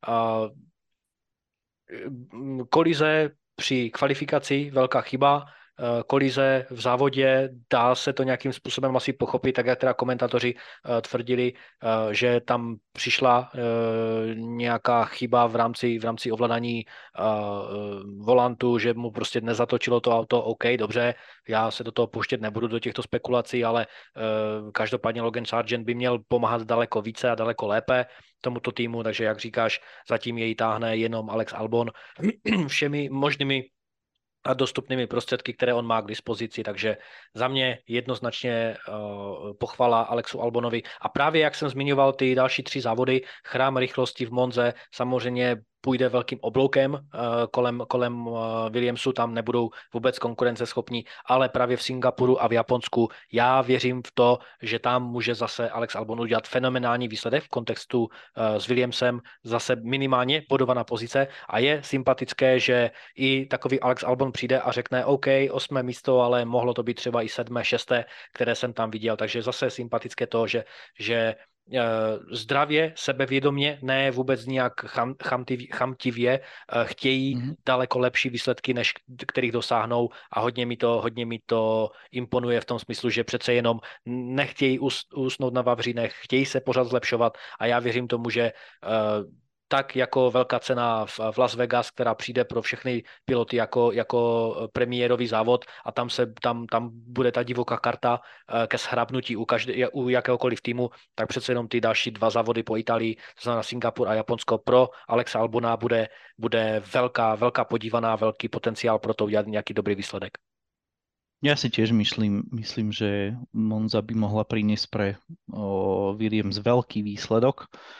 Kolize při kvalifikaci, velká chyba, kolize v závodě, dá se to nějakým způsobem asi pochopit, tak jak teda komentátoři tvrdili, že tam přišla nějaká chyba v rámci ovládání volantu, že mu prostě nezatočilo to auto, OK, dobře, já se do toho pouštět nebudu do těchto spekulací, ale každopádně Logan Sargent by měl pomáhat daleko více a daleko lépe tomuto týmu, takže jak říkáš, zatím jej táhne jenom Alex Albon všemi možnými a dostupnými prostředky, které on má k dispozici, takže za mě jednoznačně pochvala Alexu Albonovi. A právě jak jsem zmiňoval ty další 3 závody, chrám rychlosti v Monze samozřejmě půjde velkým obloukem kolem Williamsu, tam nebudou vůbec konkurenceschopní, ale právě v Singapuru a v Japonsku já věřím v to, že tam může zase Alex Albon udělat fenomenální výsledek v kontextu s Williamsem, zase minimálně bodovaná pozice a je sympatické, že i takový Alex Albon přijde a řekne OK, 8. místo, ale mohlo to být třeba i 7., 6., které jsem tam viděl, takže zase sympatické to, že zdravě, sebevědomě, ne vůbec nějak chamtivě, chtějí daleko lepší výsledky, než kterých dosáhnou a hodně mi to imponuje v tom smyslu, že přece jenom nechtějí usnout na vavřínech, chtějí se pořád zlepšovat a já věřím tomu, že tak jako velká cena v Las Vegas, která přijde pro všechny piloty jako premiérový závod a tam bude ta divoká karta ke shrabnutí u jakéhokoliv týmu, tak přece jenom ty další 2 závody po Itálii, to znamená Singapur a Japonsko, pro Alexa Albona bude velká podívaná, velký potenciál pro to udělat nějaký dobrý výsledek. Ja si tiež myslím, že Monza by mohla priniesť pre Williams veľký výsledok.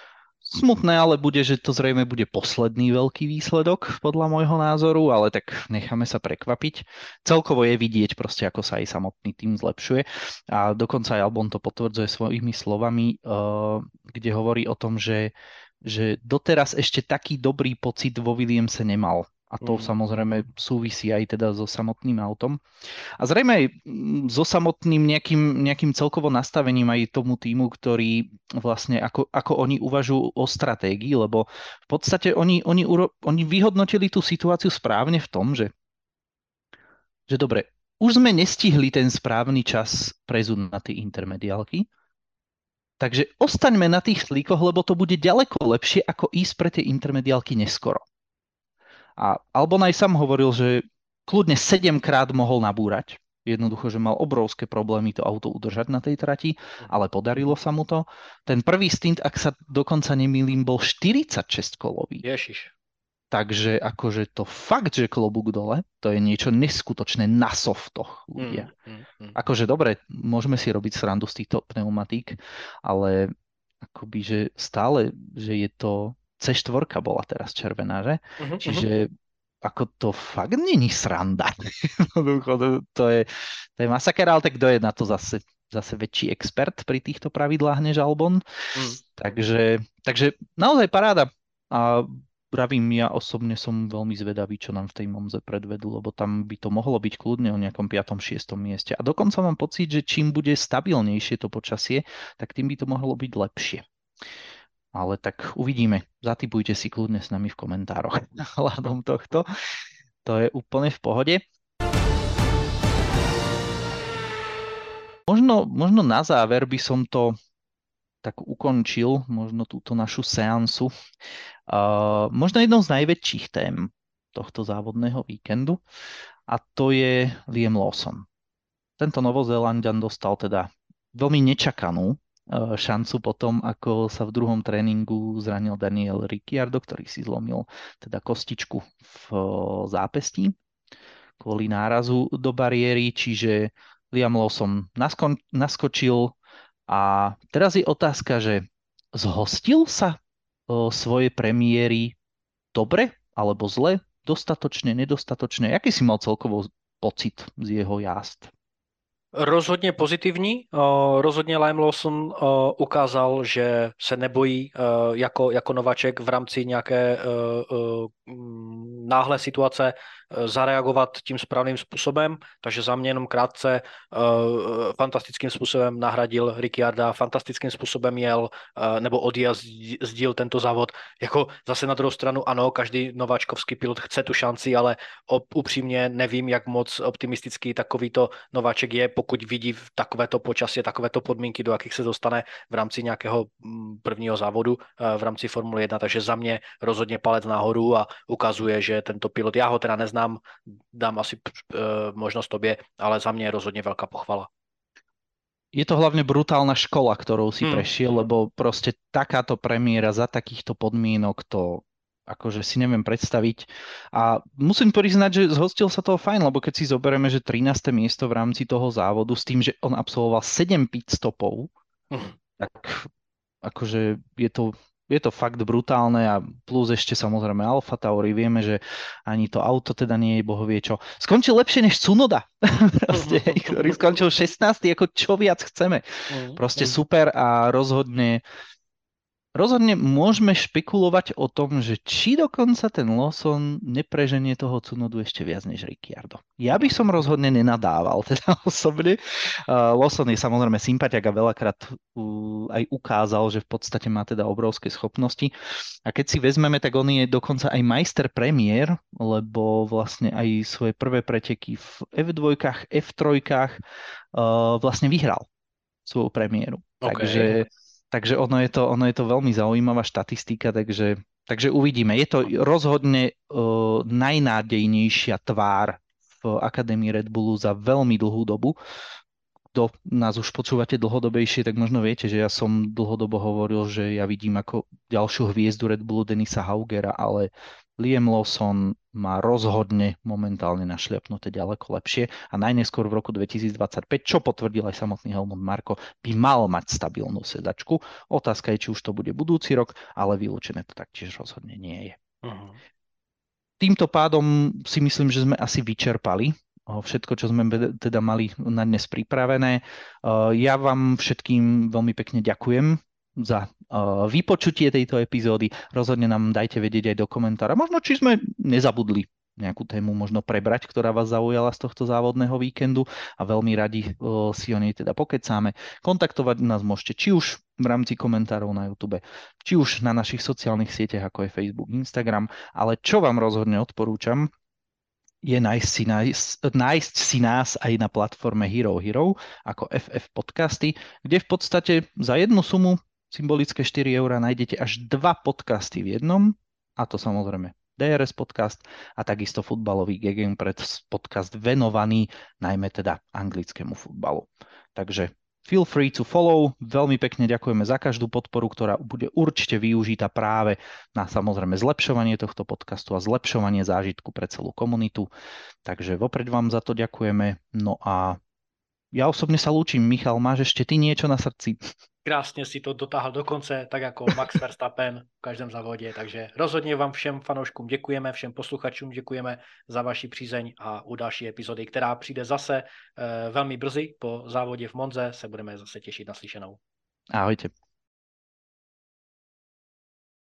Smutné ale bude, že to zrejme bude posledný veľký výsledok podľa môjho názoru, ale tak necháme sa prekvapiť. Celkovo je vidieť proste, ako sa aj samotný tým zlepšuje a dokonca aj Albon to potvrdzuje svojimi slovami, kde hovorí o tom, že doteraz ešte taký dobrý pocit vo Williamse nemal. A to samozrejme súvisí aj teda so samotným autom. A zrejme aj so samotným nejakým celkovo nastavením aj tomu týmu, ktorý vlastne ako oni uvažujú o stratégii, lebo v podstate oni vyhodnotili tú situáciu správne v tom, že dobre, už sme nestihli ten správny čas prezúť na tie intermediálky, takže ostaňme na tých slíkoch, lebo to bude ďaleko lepšie, ako ísť pre tie intermediálky neskoro. A Albon aj sám hovoril, že kľudne 7-krát mohol nabúrať. Jednoducho, že mal obrovské problémy to auto udržať na tej trati, ale podarilo sa mu to. Ten prvý stint, ak sa dokonca nemýlim, bol 46-kolový. Ježiš. Takže akože to fakt, že klobúk dole, to je niečo neskutočné na softoch ľudia. Akože dobre, môžeme si robiť srandu z týchto pneumatík, ale akoby, že stále, že je to C4 bola teraz červená, že? Čiže ako to fakt není sranda. To je masaker, ale tak kto je na to zase väčší expert pri týchto pravidlách než Albon. Takže naozaj paráda. A pravím, ja osobne som veľmi zvedavý, čo nám v tej Monze predvedú, lebo tam by to mohlo byť kľudne o nejakom 5., 6. mieste. A dokonca mám pocit, že čím bude stabilnejšie to počasie, tak tým by to mohlo byť lepšie. Ale tak uvidíme. Zatipujte si kľudne s nami v komentároch hľadom tohto. To je úplne v pohode. Možno na záver by som to tak ukončil, možno túto našu seansu. Možno jednou z najväčších tém tohto závodného víkendu a to je Liam Lawson. Tento Novozélanďan dostal teda veľmi nečakanú šancu potom, ako sa v druhom tréningu zranil Daniel Ricciardo, ktorý si zlomil teda kostičku v zápestí kvôli nárazu do bariéry, čiže Liam Lawson naskočil a teraz je otázka, že zhostil sa svoje premiéry dobre alebo zle, dostatočne, nedostatočne? Aký si mal celkovo pocit z jeho jazd? Rozhodně pozitivní. Rozhodně Liam Lawson ukázal, že se nebojí jako nováček v rámci nějaké náhle situace zareagovat tím správným způsobem, takže za mě jenom krátce fantastickým způsobem nahradil Ricciarda, fantastickým způsobem jel nebo odjel, sdíl tento závod. Jako zase na druhou stranu, ano, každý nováčkovský pilot chce tu šanci, ale upřímně nevím, jak moc optimistický takovýto nováček je, pokud vidí v takovéto počasí, takovéto podmínky, do jakých se dostane v rámci nějakého prvního závodu v rámci Formule 1, takže za mě rozhodně palec nahoru a ukazuje, že tento pilot, já ho teda neznám, dám asi možnost tobě, ale za mě je rozhodně velká pochvala. Je to hlavne brutálna škola, ktorou si prešiel, lebo proste takáto premiéra za takýchto podmienok to akože si neviem predstaviť. A musím priznať, že zhostil sa toho fajn, lebo keď si zoberieme, že 13. miesto v rámci toho závodu s tým, že on absolvoval 7 pit stopov, tak akože je to fakt brutálne a plus ešte samozrejme Alfa Tauri, vieme, že ani to auto teda nie je bohovie čo. Skončil lepšie než Tsunoda, proste, ktorý skončil 16. ako čo viac chceme. Proste super a rozhodne môžeme špekulovať o tom, že či dokonca ten Lawson nepreženie toho Tsunodu ešte viac než Ricciardo. Ja by som rozhodne nenadával, teda osobne. Lawson je samozrejme sympatiak a veľakrát aj ukázal, že v podstate má teda obrovské schopnosti. A keď si vezmeme, tak on je dokonca aj majster premiér, lebo vlastne aj svoje prvé preteky v F2, F3 vlastne vyhral svoju premiéru. Okay. Takže ono je to veľmi zaujímavá štatistika, takže uvidíme. Je to rozhodne najnádejnejšia tvár v Akadémii Red Bullu za veľmi dlhú dobu. Kto nás už počúvate dlhodobejšie, tak možno viete, že ja som dlhodobo hovoril, že ja vidím ako ďalšiu hviezdu Red Bullu Denisa Haugera, ale Liam Lawson má rozhodne momentálne našliapnuté ďaleko lepšie a najneskôr v roku 2025, čo potvrdil aj samotný Helmut Marko, by mal mať stabilnú sedačku. Otázka je, či už to bude budúci rok, ale vylúčené to taktiež rozhodne nie je. Uh-huh. Týmto pádom si myslím, že sme asi vyčerpali všetko, čo sme teda mali na dnes pripravené. Ja vám všetkým veľmi pekne ďakujem za vypočutie tejto epizódy. Rozhodne nám dajte vedieť aj do komentára. Možno, či sme nezabudli nejakú tému možno prebrať, ktorá vás zaujala z tohto závodného víkendu a veľmi radi si o nej teda pokecáme. Kontaktovať nás môžete či už v rámci komentárov na YouTube, či už na našich sociálnych sieťach, ako je Facebook, Instagram, ale čo vám rozhodne odporúčam, je nájsť si nás aj na platforme Hero Hero ako FF Podcasty, kde v podstate za jednu sumu, symbolické 4 € nájdete až 2 podcasty v jednom, a to samozrejme DRS podcast a takisto futbalový Gegenpress podcast venovaný najmä teda anglickému futbalu. Takže feel free to follow. Veľmi pekne ďakujeme za každú podporu, ktorá bude určite využitá práve na samozrejme zlepšovanie tohto podcastu a zlepšovanie zážitku pre celú komunitu. Takže vopred vám za to ďakujeme. No a ja osobne sa lúčim. Michal, máš ešte ty niečo na srdci? Krásně si to dotáhl do konce, tak jako Max Verstappen v každém závodě, takže rozhodně vám všem fanouškům děkujeme, všem posluchačům děkujeme za vaši přízeň a u další epizody, která přijde zase velmi brzy po závodě v Monze, se budeme zase těšit na slyšenou. Ahojte.